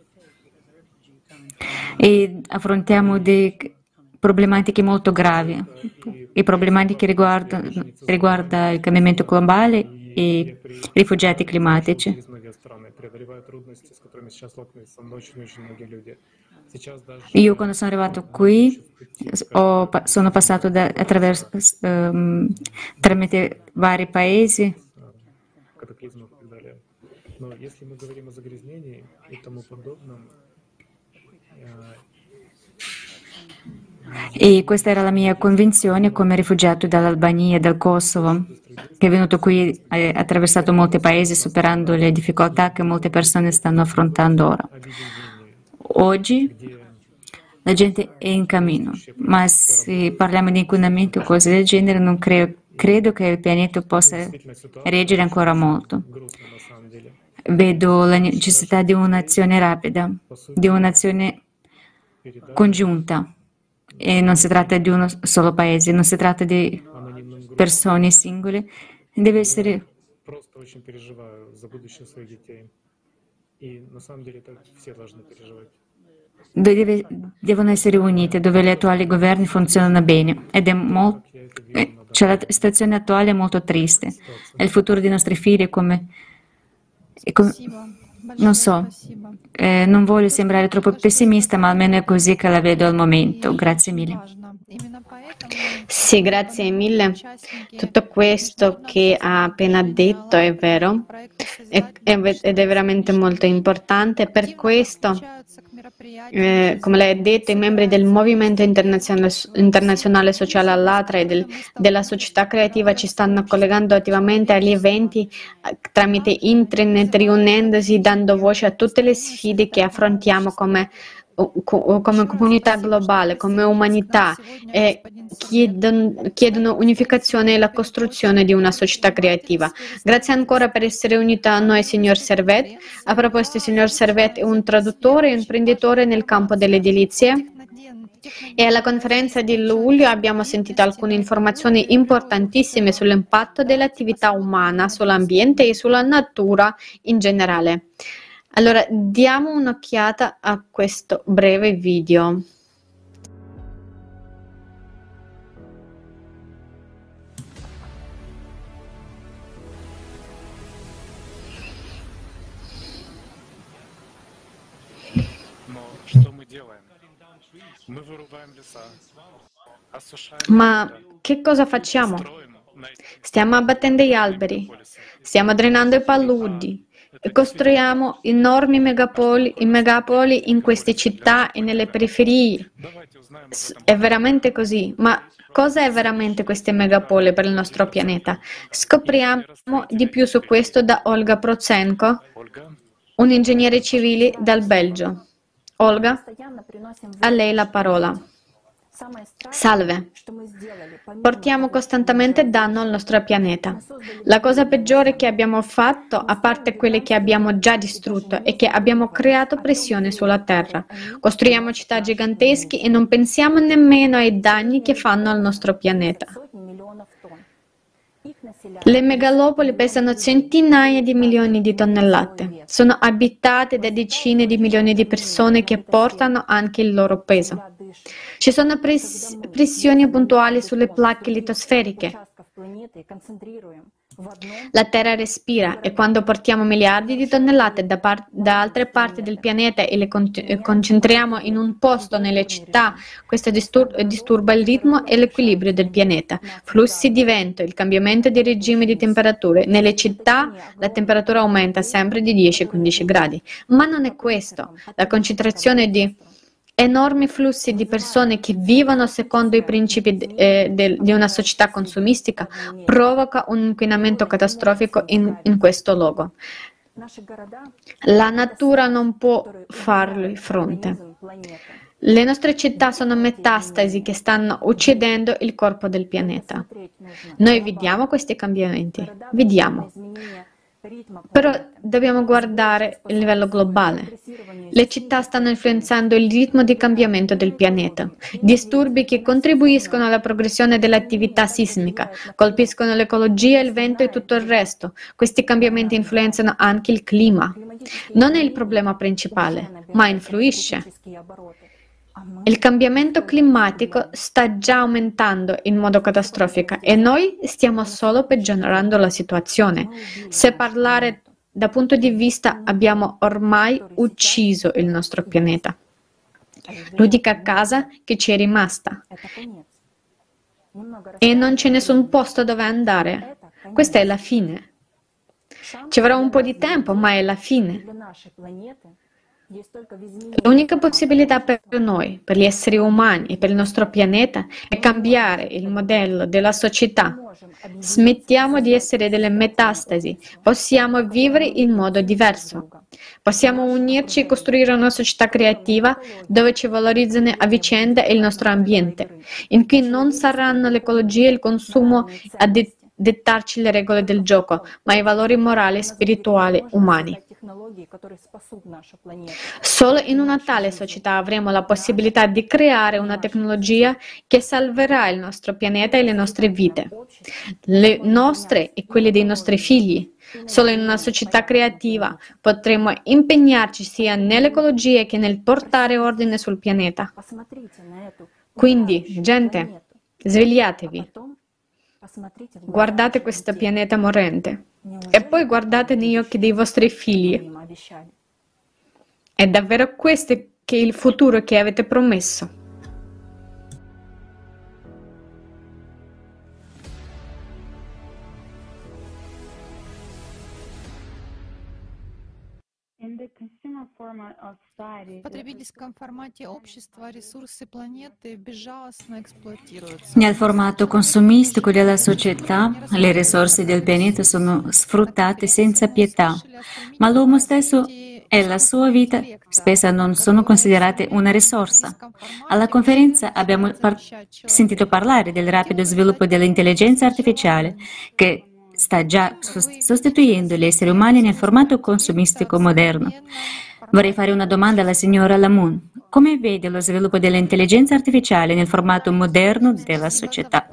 Speaker 1: e affrontiamo delle problematiche molto gravi. I problematiche riguardano il cambiamento globale e i rifugiati climatici.
Speaker 6: Через многие страны, преодолевая трудности, с которыми сейчас сталкиваются очень-очень многие люди. Сейчас даже
Speaker 1: Io quando sono arrivato qui sono passato tramite vari paesi
Speaker 6: катаклизмов и так далее. Но если мы говорим о загрязнении и тому подобном,
Speaker 1: E questa era la mia convinzione come rifugiato dall'Albania e dal Kosovo, che è venuto qui, ha attraversato molti paesi superando le difficoltà che molte persone stanno affrontando ora. Oggi la gente è in cammino, ma se parliamo di inquinamento o cose del genere, non credo che il pianeta possa reggere ancora molto. Vedo la necessità di un'azione rapida, di un'azione congiunta. E non si tratta di uno solo paese, non si tratta di persone singole, deve essere...
Speaker 6: просто очень переживаю за будущее своих детей. И на самом деле это все должны переживать.
Speaker 1: Devono essere unite, dove gli attuali governi funzionano bene ed è cioè la situazione attuale è molto triste. E il futuro dei nostri figli è come non so, non voglio sembrare troppo pessimista, ma almeno è così che la vedo al momento. Grazie mille.
Speaker 2: Sì, grazie mille. Tutto questo che ha appena detto è vero ed è veramente molto importante. Per questo, come lei ha detto, i membri del Movimento Internazionale Sociale Allatra e della società creativa ci stanno collegando attivamente agli eventi tramite internet, riunendosi, dando voce a tutte le sfide che affrontiamo come comunità globale, come umanità, e chiedono unificazione e la costruzione di una società creativa. Grazie ancora per essere unito a noi, signor Servet. A proposito, signor Servet è un traduttore e un imprenditore nel campo delle edilizie. E alla conferenza di luglio abbiamo sentito alcune informazioni importantissime sull'impatto dell'attività umana sull'ambiente e sulla natura in generale. Allora, diamo un'occhiata a questo breve video. Ma che cosa facciamo? Stiamo abbattendo gli alberi, stiamo drenando i paludi e costruiamo enormi megapoli in queste città e nelle periferie. È veramente così, ma cosa è veramente queste megapoli per il nostro pianeta? Scopriamo di più su questo da Olga Protsenko, un ingegnere civile dal Belgio. Olga, a lei la parola. Salve. Portiamo costantemente danno al nostro pianeta. La cosa peggiore che abbiamo fatto, a parte quelle che abbiamo già distrutto, è che abbiamo creato pressione sulla Terra. Costruiamo città gigantesche e non pensiamo nemmeno ai danni che fanno al nostro pianeta. Le megalopoli pesano centinaia di milioni di tonnellate. Sono abitate da decine di milioni di persone che portano anche il loro peso. Ci sono pressioni puntuali sulle placche litosferiche. La Terra respira e quando portiamo miliardi di tonnellate da altre parti del pianeta e le concentriamo in un posto nelle città, questo disturba il ritmo e l'equilibrio del pianeta. Flussi di vento, il cambiamento di regime di temperature. Nelle città la temperatura aumenta sempre di 10-15 gradi. Ma non è questo. La concentrazione di enormi flussi di persone che vivono secondo i principi di una società consumistica provoca un inquinamento catastrofico in questo luogo. La natura non può fargli fronte. Le nostre città sono metastasi che stanno uccidendo il corpo del pianeta. Noi vediamo questi cambiamenti, vediamo. Però dobbiamo guardare il livello globale. Le città stanno influenzando il ritmo di cambiamento del pianeta. Disturbi che contribuiscono alla progressione dell'attività sismica, colpiscono l'ecologia, il vento e tutto il resto. Questi cambiamenti influenzano anche il clima. Non è il problema principale, ma influisce. Il cambiamento climatico sta già aumentando in modo catastrofico e noi stiamo solo peggiorando la situazione. Se parlare da punto di vista abbiamo ormai ucciso il nostro pianeta. L'unica casa che ci è rimasta. E non c'è nessun posto dove andare. Questa è la fine. Ci vorrà un po' di tempo, ma è la fine. L'unica possibilità per noi, per gli esseri umani e per il nostro pianeta è cambiare il modello della società. Smettiamo di essere delle metastasi, possiamo vivere in modo diverso. Possiamo unirci e costruire una società creativa dove ci valorizzano a vicenda il nostro ambiente, in cui non saranno l'ecologia e il consumo a dettarci le regole del gioco, ma i valori morali e spirituali umani. Solo in una tale società avremo la possibilità di creare una tecnologia che salverà il nostro pianeta e le nostre vite, le nostre e quelle dei nostri figli. Solo in una società creativa potremo impegnarci sia nell'ecologia che nel portare ordine sul pianeta. Quindi, gente, svegliatevi. Guardate questo pianeta morente e poi guardate negli occhi dei vostri figli. È davvero questo che è il futuro che avete promesso.
Speaker 9: В потребительском формате общества ресурсы планеты безжалостно эксплуатируются.
Speaker 1: Nel formato consumistico della società, le risorse del pianeta sono sfruttate senza pietà, ma l'uomo stesso e la sua vita spesso non sono considerate una risorsa. Alla conferenza abbiamo sentito parlare del rapido sviluppo dell'intelligenza artificiale, che sta già sostituendo gli esseri umani nel formato consumistico moderno. Vorrei fare una domanda alla signora Lamoon. Come vede lo sviluppo dell'intelligenza artificiale nel formato moderno della società?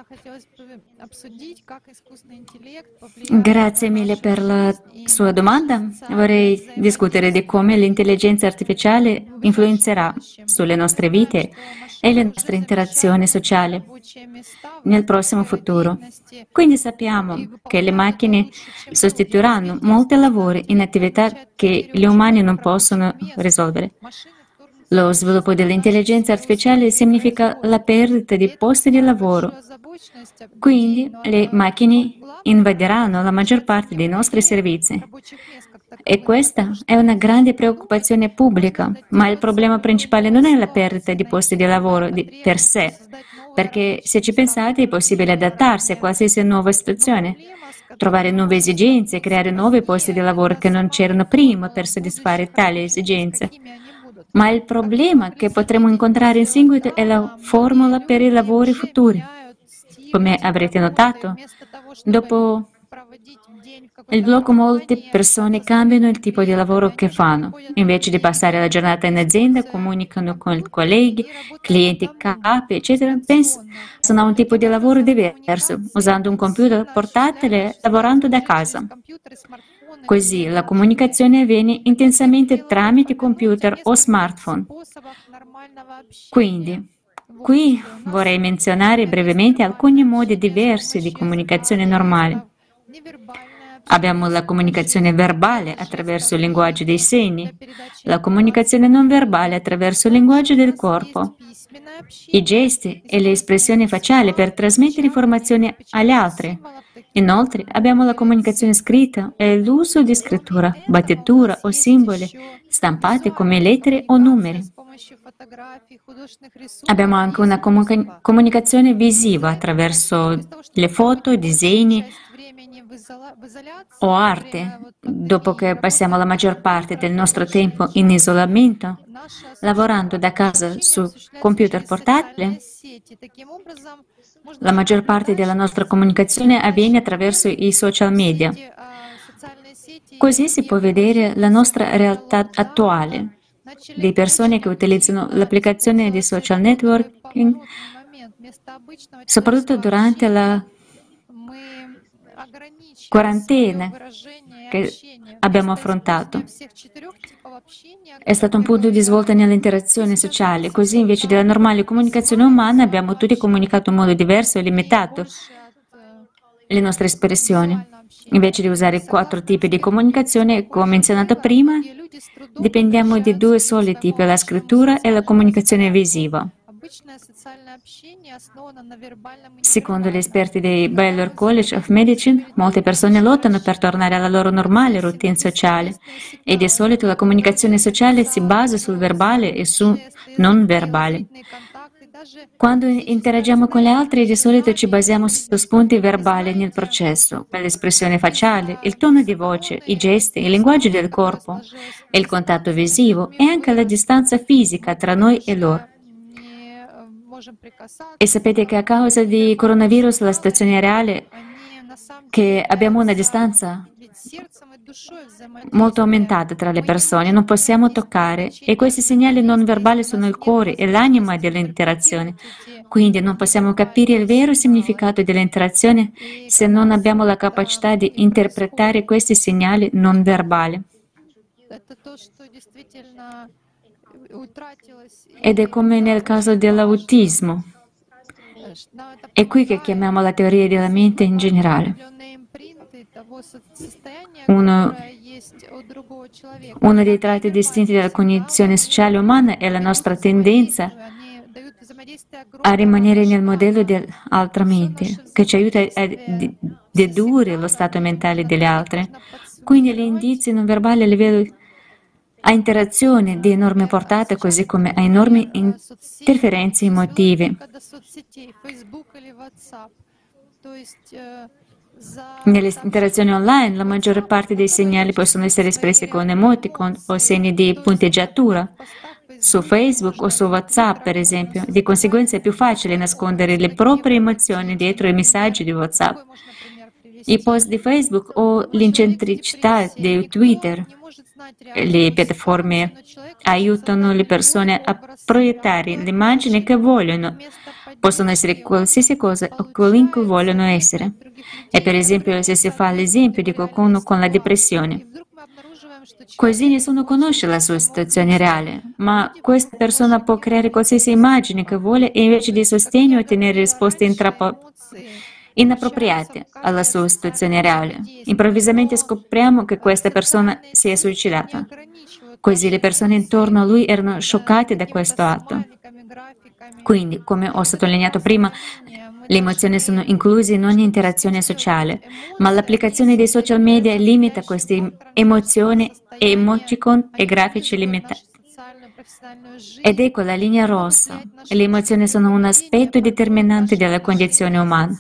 Speaker 1: Grazie mille per la sua domanda. Vorrei discutere di come l'intelligenza artificiale influenzerà sulle nostre vite e le nostre interazioni sociali nel prossimo futuro. Quindi sappiamo che le macchine sostituiranno molti lavori in attività che gli umani non possono risolvere. Lo sviluppo dell'intelligenza artificiale significa la perdita di posti di lavoro. Quindi le macchine invaderanno la maggior parte dei nostri servizi. E questa è una grande preoccupazione pubblica, ma il problema principale non è la perdita di posti di lavoro per sé, perché se ci pensate è possibile adattarsi a qualsiasi nuova situazione, trovare nuove esigenze, creare nuovi posti di lavoro che non c'erano prima per soddisfare tali esigenze. Ma il problema che potremo incontrare in seguito è la formula per i lavori futuri. Come avrete notato, dopo il blocco molte persone cambiano il tipo di lavoro che fanno. Invece di passare la giornata in azienda, comunicano con i colleghi, clienti, capi, eccetera, pensano a un tipo di lavoro diverso, usando un computer portatile, lavorando da casa. Così la comunicazione avviene intensamente tramite computer o smartphone. Quindi, qui vorrei menzionare brevemente alcuni modi diversi di comunicazione normale. Abbiamo la comunicazione verbale attraverso il linguaggio dei segni, la comunicazione non verbale attraverso il linguaggio del corpo, i gesti e le espressioni facciali per trasmettere informazioni agli altri. Inoltre abbiamo la comunicazione scritta e l'uso di scrittura, battitura o simboli stampati come lettere o numeri. Abbiamo anche una comunicazione visiva attraverso le foto, disegni o arte. Dopo che passiamo la maggior parte del nostro tempo in isolamento, lavorando da casa su computer portatile, la maggior parte della nostra comunicazione avviene attraverso i social media. Così si può vedere la nostra realtà attuale di persone che utilizzano l'applicazione di social networking, soprattutto durante la quarantena che abbiamo affrontato. È stato un punto di svolta nelle interazioni sociali, così invece della normale comunicazione umana abbiamo tutti comunicato in modo diverso e limitato le nostre espressioni. Invece di usare 4 tipi di comunicazione, come menzionato prima, dipendiamo di 2 soli tipi, la scrittura e la comunicazione visiva. Secondo gli esperti dei Baylor College of Medicine, molte persone lottano per tornare alla loro normale routine sociale e di solito la comunicazione sociale si basa sul verbale e sul non verbale. Quando interagiamo con gli altri, di solito ci basiamo su spunti verbali nel processo, per l'espressione facciale, il tono di voce, i gesti, il linguaggio del corpo, il contatto visivo e anche la distanza fisica tra noi e loro. E sapete che a causa di coronavirus la situazione è reale che abbiamo una distanza molto aumentata tra le persone, non possiamo toccare e questi segnali non verbali sono il cuore e l'anima dell'interazione. Quindi non possiamo capire il vero significato dell'interazione se non abbiamo la capacità di interpretare questi segnali non verbali. Ed è come nel caso dell'autismo. È qui che chiamiamo la teoria della mente in generale. Uno dei tratti distinti della cognizione sociale umana è la nostra tendenza a rimanere nel modello dell'altra mente, che ci aiuta a dedurre lo stato mentale delle altre. Quindi gli indizi non verbali a livello a interazione di enorme portata, così come a enormi interferenze emotive. Nelle interazioni online, la maggior parte dei segnali possono essere espressi con emoticon o segni di punteggiatura. Su Facebook o su WhatsApp, per esempio. Di conseguenza è più facile nascondere le proprie emozioni dietro i messaggi di WhatsApp. I post di Facebook o l'incentricità di Twitter. Le piattaforme aiutano le persone a proiettare l'immagine che vogliono. Possono essere qualsiasi cosa o qualunque vogliono essere. E per esempio se si fa l'esempio di qualcuno con la depressione. Così nessuno conosce la sua situazione reale, ma questa persona può creare qualsiasi immagine che vuole e invece di sostegno ottenere risposte inappropriate alla sua situazione reale. Improvvisamente scopriamo che questa persona si è suicidata. Così le persone intorno a lui erano scioccate da questo atto. Quindi, come ho sottolineato prima, le emozioni sono incluse in ogni interazione sociale, ma l'applicazione dei social media limita queste emozioni e emoticon e grafici limitati. Ed ecco la linea rossa. Le emozioni sono un aspetto determinante della condizione umana.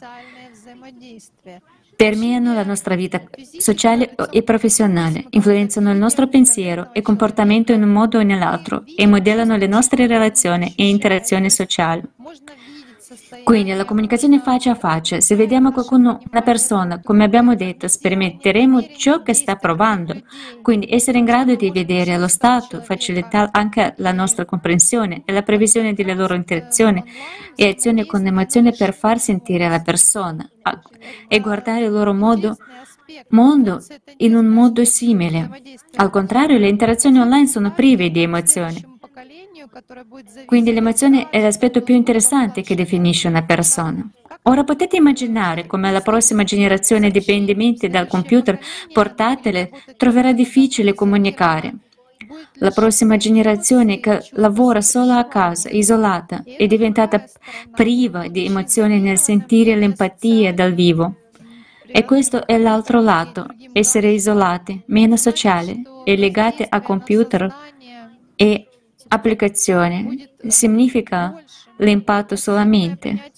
Speaker 1: Permeano la nostra vita sociale e professionale, influenzano il nostro pensiero e comportamento in un modo o nell'altro e modellano le nostre relazioni e interazioni sociali. Quindi la comunicazione faccia a faccia, se vediamo qualcuno, una persona, come abbiamo detto, sperimenteremo ciò che sta provando. Quindi essere in grado di vedere lo stato facilita anche la nostra comprensione e la previsione delle loro interazioni e azioni con emozione per far sentire la persona e guardare il loro mondo in un modo simile. Al contrario, le interazioni online sono prive di emozioni. Quindi l'emozione è l'aspetto più interessante che definisce una persona. Ora potete immaginare come la prossima generazione dipendente dal computer portatile troverà difficile comunicare. La prossima generazione che lavora solo a casa, isolata, è diventata priva di emozioni nel sentire l'empatia dal vivo. E questo è l'altro lato, essere isolati, meno sociali e legati a computer e applicazione significa l'impatto sulla mente.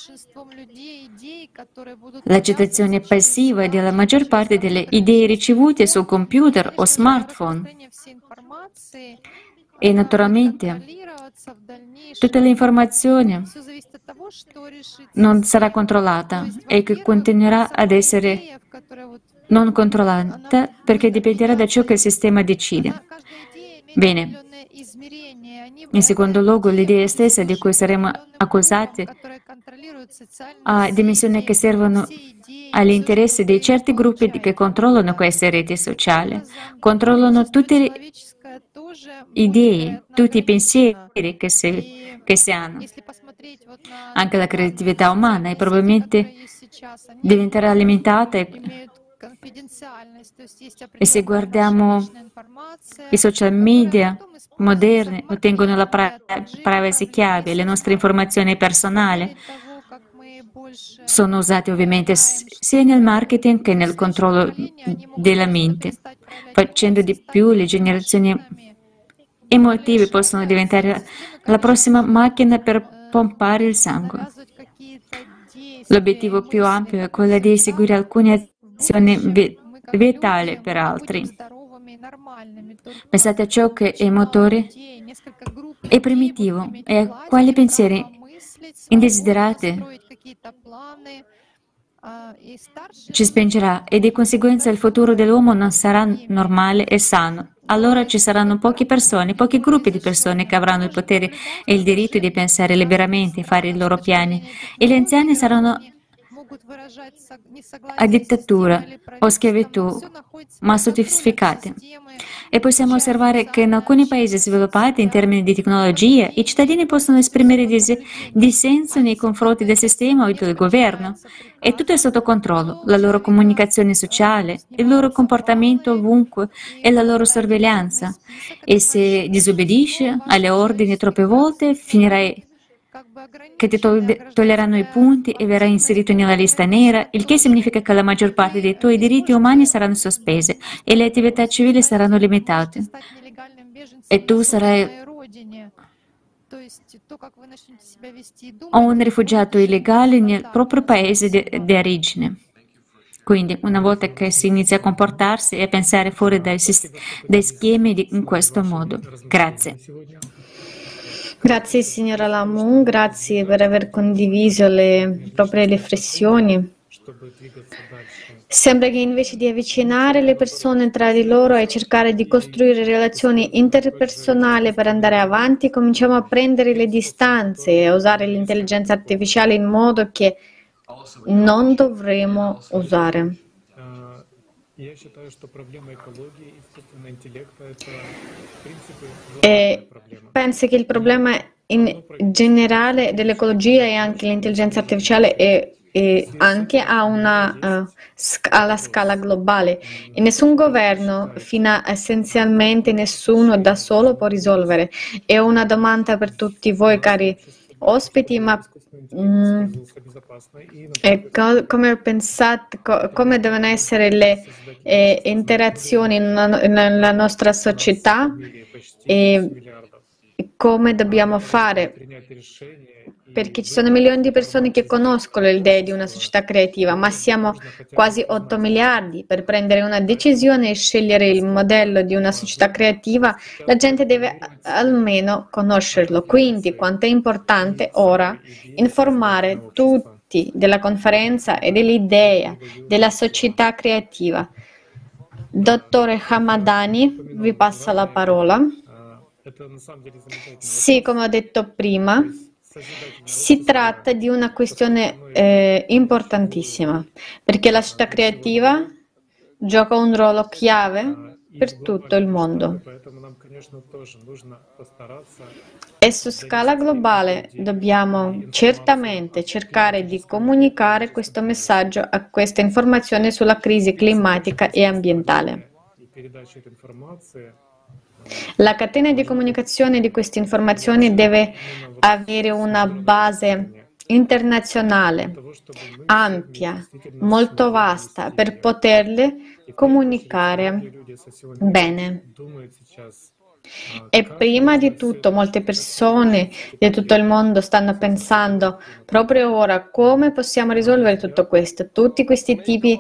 Speaker 1: L'accettazione passiva della maggior parte delle idee ricevute sul computer o smartphone. E naturalmente tutta l'informazione non sarà controllata e che continuerà ad essere non controllata perché dipenderà da ciò che il sistema decide. Bene. In secondo luogo, l'idea stessa di cui saremo accusati ha dimensioni che servono agli interessi di certi gruppi che controllano queste reti sociali, controllano tutte le idee, tutti i pensieri che si hanno. Anche la creatività umana e probabilmente diventerà limitata E se guardiamo i social media moderni, ottengono la privacy chiave, le nostre informazioni personali sono usate ovviamente sia nel marketing che nel controllo della mente. Facendo di più, le generazioni emotive possono diventare la prossima macchina per pompare il sangue. L'obiettivo più ampio è quello di eseguire alcune azioni vitali per altri. Pensate a ciò che è motore, è primitivo, e a quali pensieri indesiderati ci spingerà, e di conseguenza il futuro dell'uomo non sarà normale e sano. Allora ci saranno poche persone, pochi gruppi di persone che avranno il potere e il diritto di pensare liberamente e fare i loro piani, e gli anziani saranno a dittatura o schiavitù massificate. E possiamo osservare che in alcuni paesi sviluppati in termini di tecnologia i cittadini possono esprimere dissenso nei confronti del sistema o del governo, e tutto è sotto controllo: la loro comunicazione sociale, il loro comportamento ovunque e la loro sorveglianza. E se disobbedisci alle ordini troppe volte, finirai che ti toglieranno i punti e verrai inserito nella lista nera, il che significa che la maggior parte dei tuoi diritti umani saranno sospese e le attività civili saranno limitate. E tu sarai un rifugiato illegale nel proprio paese di origine. Quindi, una volta che si inizia a comportarsi e a pensare fuori dai schemi in questo modo. Grazie.
Speaker 2: Grazie signora Lamun, grazie per aver condiviso le proprie riflessioni. Sembra che invece di avvicinare le persone tra di loro e cercare di costruire relazioni interpersonali per andare avanti, cominciamo a prendere le distanze e a usare l'intelligenza artificiale in modo che non dovremo usare. E penso che il problema in generale dell'ecologia e anche l'intelligenza artificiale è anche alla scala globale, e nessun governo, fino a essenzialmente nessuno da solo può risolvere. È una domanda per tutti voi, cari ospiti, ma come pensate, come devono essere le interazioni nella nostra società e come dobbiamo fare? Perché ci sono milioni di persone che conoscono l'idea di una società creativa, ma siamo quasi 8 miliardi. Per prendere una decisione e scegliere il modello di una società creativa, la gente deve almeno conoscerlo. Quindi, quanto è importante ora informare tutti della conferenza e dell'idea della società creativa. Dottore Hamadani, vi passa la parola. Sì, come ho detto prima, si tratta di una questione importantissima, perché la società creativa gioca un ruolo chiave per tutto il mondo. E su scala globale dobbiamo certamente cercare di comunicare questo messaggio a questa informazione sulla crisi climatica e ambientale. La catena di comunicazione di queste informazioni deve avere una base internazionale, ampia, molto vasta, per poterle comunicare bene. E prima di tutto molte persone di tutto il mondo stanno pensando proprio ora come possiamo risolvere tutto questo, tutti questi tipi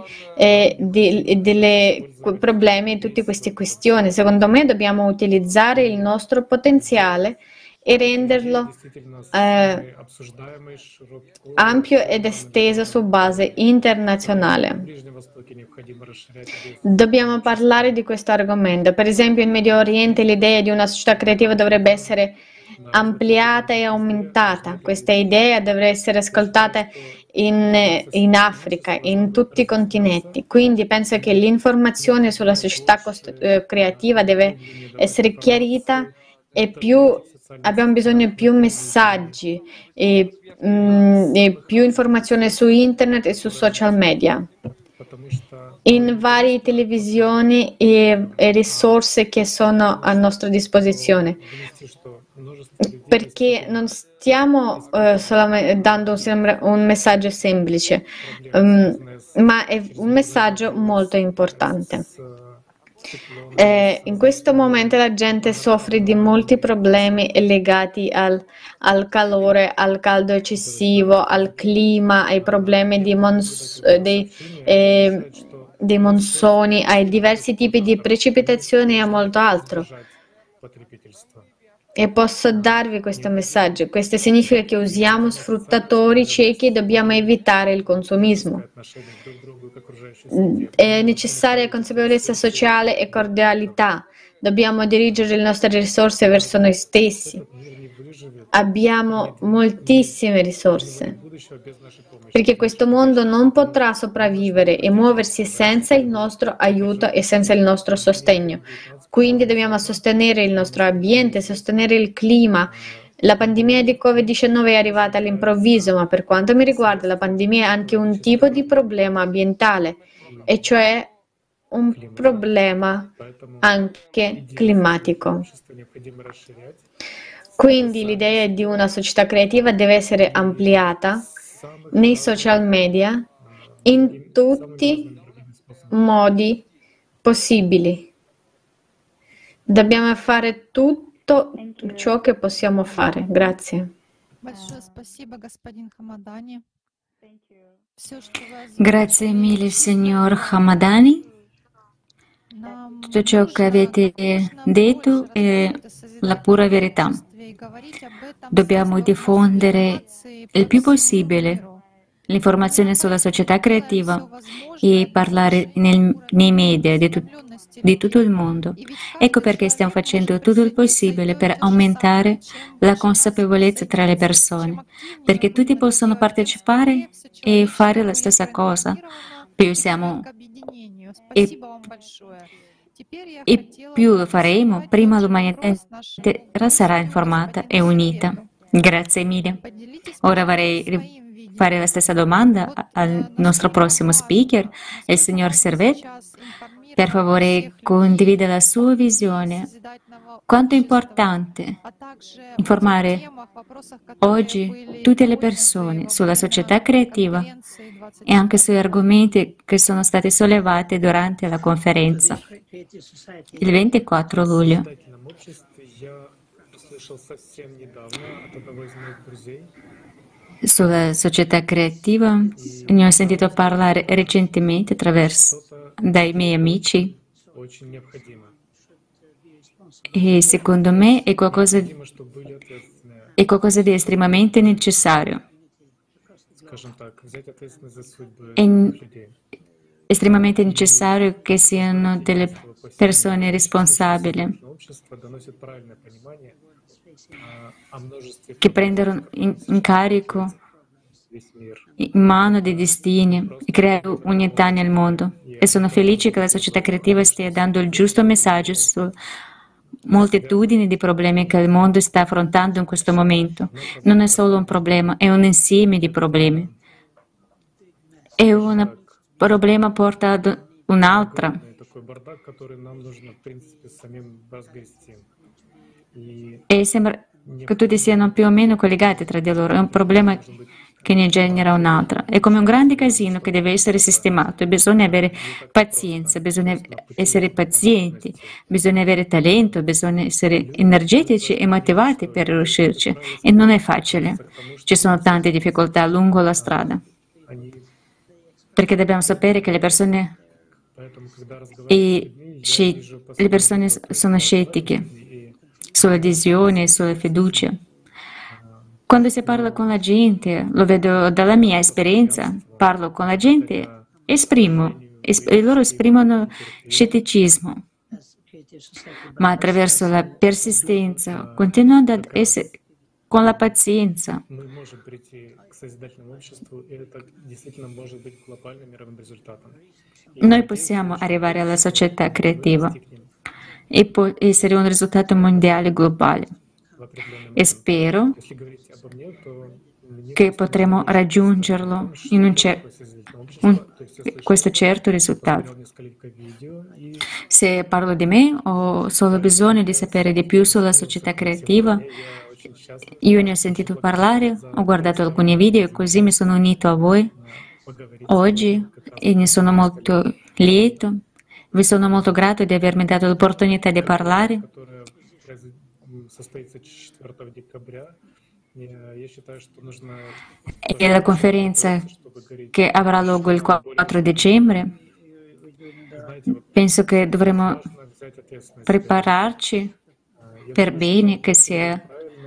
Speaker 2: di problemi e tutte queste questioni. Secondo me dobbiamo utilizzare il nostro potenziale e renderlo ampio ed esteso su base internazionale. Dobbiamo parlare di questo argomento. Per esempio, in Medio Oriente l'idea di una società creativa dovrebbe essere ampliata e aumentata. Questa idea dovrebbe essere ascoltata in Africa, in tutti i continenti. Quindi penso che l'informazione sulla società creativa deve essere chiarita e abbiamo bisogno di più messaggi e più informazione su internet e su social media. in varie televisioni e risorse che sono a nostra disposizione, perché non stiamo solamente dando un messaggio semplice, ma è un messaggio molto importante. In questo momento la gente soffre di molti problemi legati al calore, al caldo eccessivo, al clima, ai problemi dei monsoni, ai diversi tipi di precipitazioni e molto altro. E posso darvi questo messaggio. Questo significa che usiamo sfruttatori ciechi e dobbiamo evitare il consumismo. È necessaria consapevolezza sociale e cordialità. Dobbiamo dirigere le nostre risorse verso noi stessi. Abbiamo moltissime risorse, perché questo mondo non potrà sopravvivere e muoversi senza il nostro aiuto e senza il nostro sostegno. Quindi dobbiamo sostenere il nostro ambiente, sostenere il clima. La pandemia di Covid-19 è arrivata all'improvviso, ma per quanto mi riguarda la pandemia è anche un tipo di problema ambientale, e cioè un problema anche climatico. Quindi l'idea di una società creativa deve essere ampliata nei social media in tutti i modi possibili. Dobbiamo fare tutto ciò che possiamo fare. Grazie.
Speaker 1: Grazie mille, signor Hamadani. Tutto ciò che avete detto è la pura verità. Dobbiamo diffondere il più possibile l'informazione sulla società creativa e parlare nei media di tutto il mondo. Ecco perché stiamo facendo tutto il possibile per aumentare la consapevolezza tra le persone, perché tutti possano partecipare e fare la stessa cosa. Più siamo e più lo faremo, prima l'umanità intera sarà informata e unita. Grazie mille. Ora vorrei fare la stessa domanda al nostro prossimo speaker, il signor Servet. Per favore, condivida la sua visione. Quanto è importante informare oggi tutte le persone sulla società creativa e anche sugli argomenti che sono stati sollevati durante la conferenza il 24 luglio. Sulla società creativa ne ho sentito parlare recentemente dai miei amici e secondo me è qualcosa di estremamente necessario. È estremamente necessario che siano delle persone responsabili, che prendano in carico in mano dei destini e creare unità nel mondo. E sono felice che la società creativa stia dando il giusto messaggio su moltitudini di problemi che il mondo sta affrontando in questo momento. Non è solo un problema, è un insieme di problemi. E un problema porta ad un'altra. E sembra che tutti siano più o meno collegati tra di loro. È un problema che ne genera un'altra. È come un grande casino che deve essere sistemato e bisogna avere pazienza, bisogna essere pazienti, bisogna avere talento, bisogna essere energetici e motivati per riuscirci. E non è facile. Ci sono tante difficoltà lungo la strada. Perché dobbiamo sapere che le persone sono scettiche sull'adesione e sulla fiducia. Quando si parla con la gente, lo vedo dalla mia esperienza, parlo con la gente, e loro esprimono scetticismo, ma attraverso la persistenza, continuando ad essere con la pazienza, noi possiamo arrivare alla società creativa e può essere un risultato mondiale globale. e spero che potremo raggiungerlo in questo certo risultato. Se parlo di me, ho solo bisogno di sapere di più sulla società creativa. Io ne ho sentito parlare, ho guardato alcuni video e così mi sono unito a voi oggi e ne sono molto lieto. Vi sono molto grato di avermi dato l'opportunità di parlare. E la conferenza che avrà luogo il 4 dicembre, penso che dovremo prepararci per bene, che sia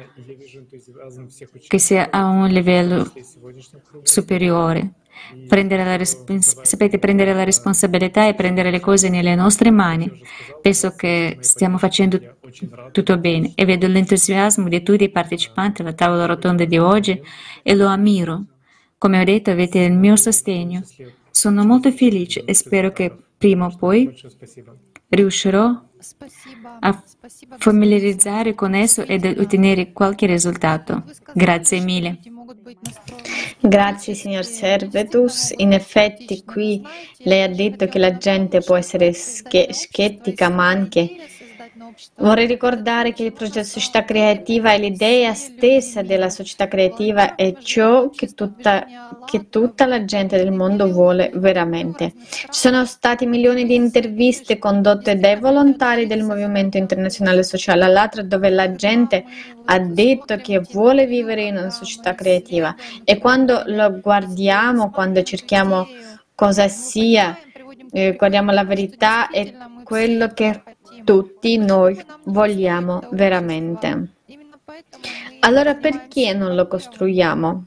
Speaker 1: a un livello superiore. Sapete, prendere la responsabilità e prendere le cose nelle nostre mani. Penso che stiamo facendo tutto bene e vedo l'entusiasmo di tutti i partecipanti alla tavola rotonda di oggi e lo ammiro. Come ho detto, avete il mio sostegno. Sono molto felice e spero che prima o poi riuscirò a familiarizzare con esso ed ottenere qualche risultato. Grazie mille.
Speaker 2: Grazie, signor Servetus. In effetti, qui lei ha detto che la gente può essere scettica, ma anche vorrei ricordare che il progetto Società Creativa è l'idea stessa della società creativa e ciò che tutta la gente del mondo vuole veramente. Ci sono stati milioni di interviste condotte dai volontari del Movimento Internazionale Sociale all'Atra dove la gente ha detto che vuole vivere in una società creativa e quando lo guardiamo, quando cerchiamo cosa sia, guardiamo la verità e quello che tutti noi vogliamo veramente. Allora perché non lo costruiamo?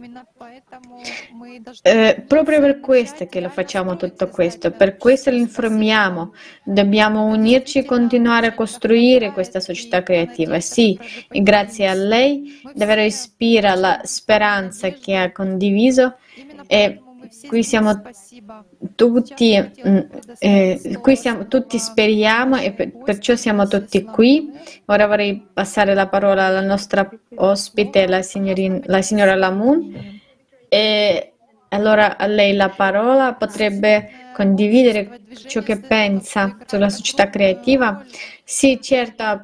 Speaker 2: Proprio per questo che lo facciamo tutto questo, per questo lo informiamo. Dobbiamo unirci e continuare a costruire questa società creativa. Sì, e grazie a lei davvero ispira la speranza che ha condiviso e qui siamo tutti speriamo e perciò siamo tutti qui. Ora vorrei passare la parola alla nostra ospite, la signora Lamoon. E allora a lei la parola, potrebbe condividere ciò che pensa sulla società creativa? Sì, certo,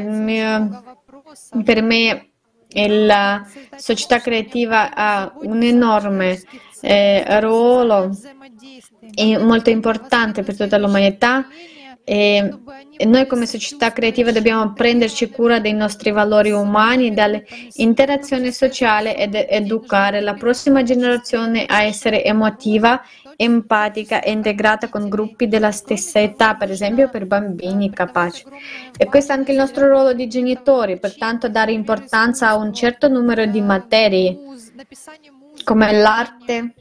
Speaker 2: per me la società creativa ha un enorme ruolo molto importante per tutta l'umanità e noi come società creativa dobbiamo prenderci cura dei nostri valori umani, dall'interazione sociale ed educare la prossima generazione a essere emotiva, empatica e integrata con gruppi della stessa età, per esempio per bambini capaci. E questo è anche il nostro ruolo di genitori, pertanto dare importanza a un certo numero di materie come l'arte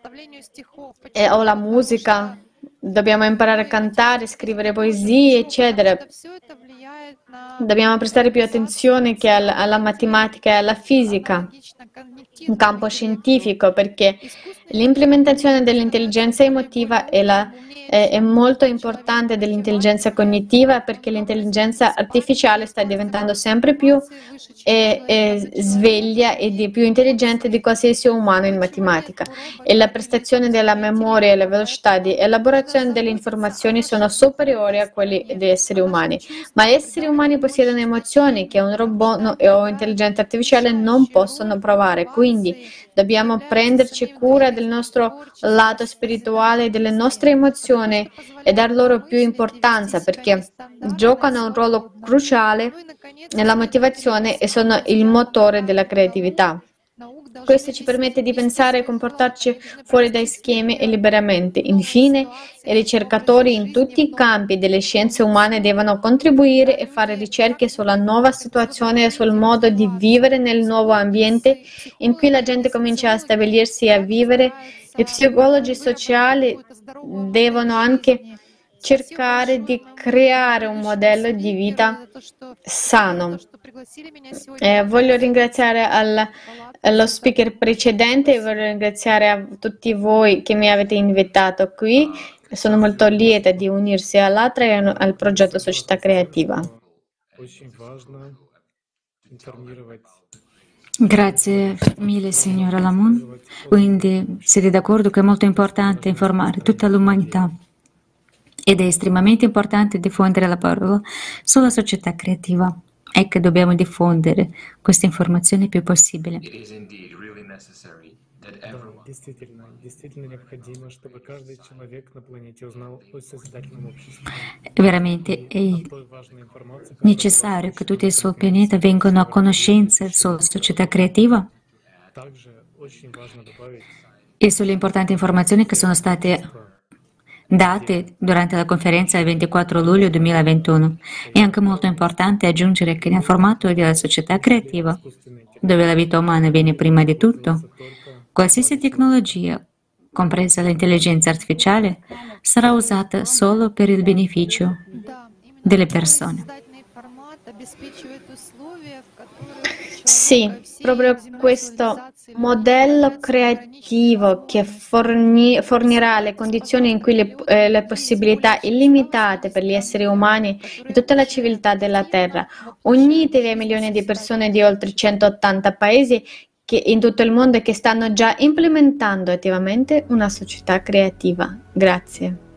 Speaker 2: o la musica. Dobbiamo imparare a cantare, scrivere poesie, eccetera. Dobbiamo prestare più attenzione che alla matematica e alla fisica, un campo scientifico, perché l'implementazione dell'intelligenza emotiva è molto importante dell'intelligenza cognitiva, perché l'intelligenza artificiale sta diventando sempre più sveglia e più intelligente di qualsiasi umano in matematica. E la prestazione della memoria e la velocità di elaborazione delle informazioni sono superiori a quelli degli esseri umani. Ma gli esseri umani possiedono emozioni che un robot o intelligenza artificiale non possono provare. Quindi dobbiamo prenderci cura del nostro lato spirituale, delle nostre emozioni e dar loro più importanza perché giocano un ruolo cruciale nella motivazione e sono il motore della creatività. Questo ci permette di pensare e comportarci fuori dai schemi e liberamente. Infine, i ricercatori in tutti i campi delle scienze umane devono contribuire e fare ricerche sulla nuova situazione e sul modo di vivere nel nuovo ambiente in cui la gente comincia a stabilirsi e a vivere. I psicologi sociali devono anche cercare di creare un modello di vita sano. Voglio ringraziare allo speaker precedente e voglio ringraziare a tutti voi che mi avete invitato qui. Sono molto lieta di unirsi all'Atra e al progetto Società Creativa.
Speaker 6: информировать.
Speaker 1: Grazie mille, signora Lamon. Quindi siete d'accordo che è molto importante informare tutta l'umanità ed è estremamente importante diffondere la parola sulla società creativa e che dobbiamo diffondere questa informazione il più possibile.
Speaker 6: Да, действительно необходимо, чтобы каждый человек на планете узнал о созидательном обществе.
Speaker 1: È veramente
Speaker 6: И о той важной информации, которая
Speaker 1: necessario che tutti sul pianeta vengano a conoscenza sulla società creativa
Speaker 6: также очень важно добавить
Speaker 1: e sulle importanti informazioni che sono state date durante la conferenza del 24 luglio 2021. È anche molto importante aggiungere che nel formato della società creativa, dove la vita umana viene prima di tutto, qualsiasi tecnologia, compresa l'intelligenza artificiale, sarà usata solo per il beneficio delle persone.
Speaker 2: Sì, proprio questo modello creativo che fornirà le condizioni in cui le possibilità illimitate per gli esseri umani e tutta la civiltà della Terra, unitevi ai milioni di persone di oltre 180 paesi in tutto il mondo che stanno già implementando attivamente una società creativa. Grazie.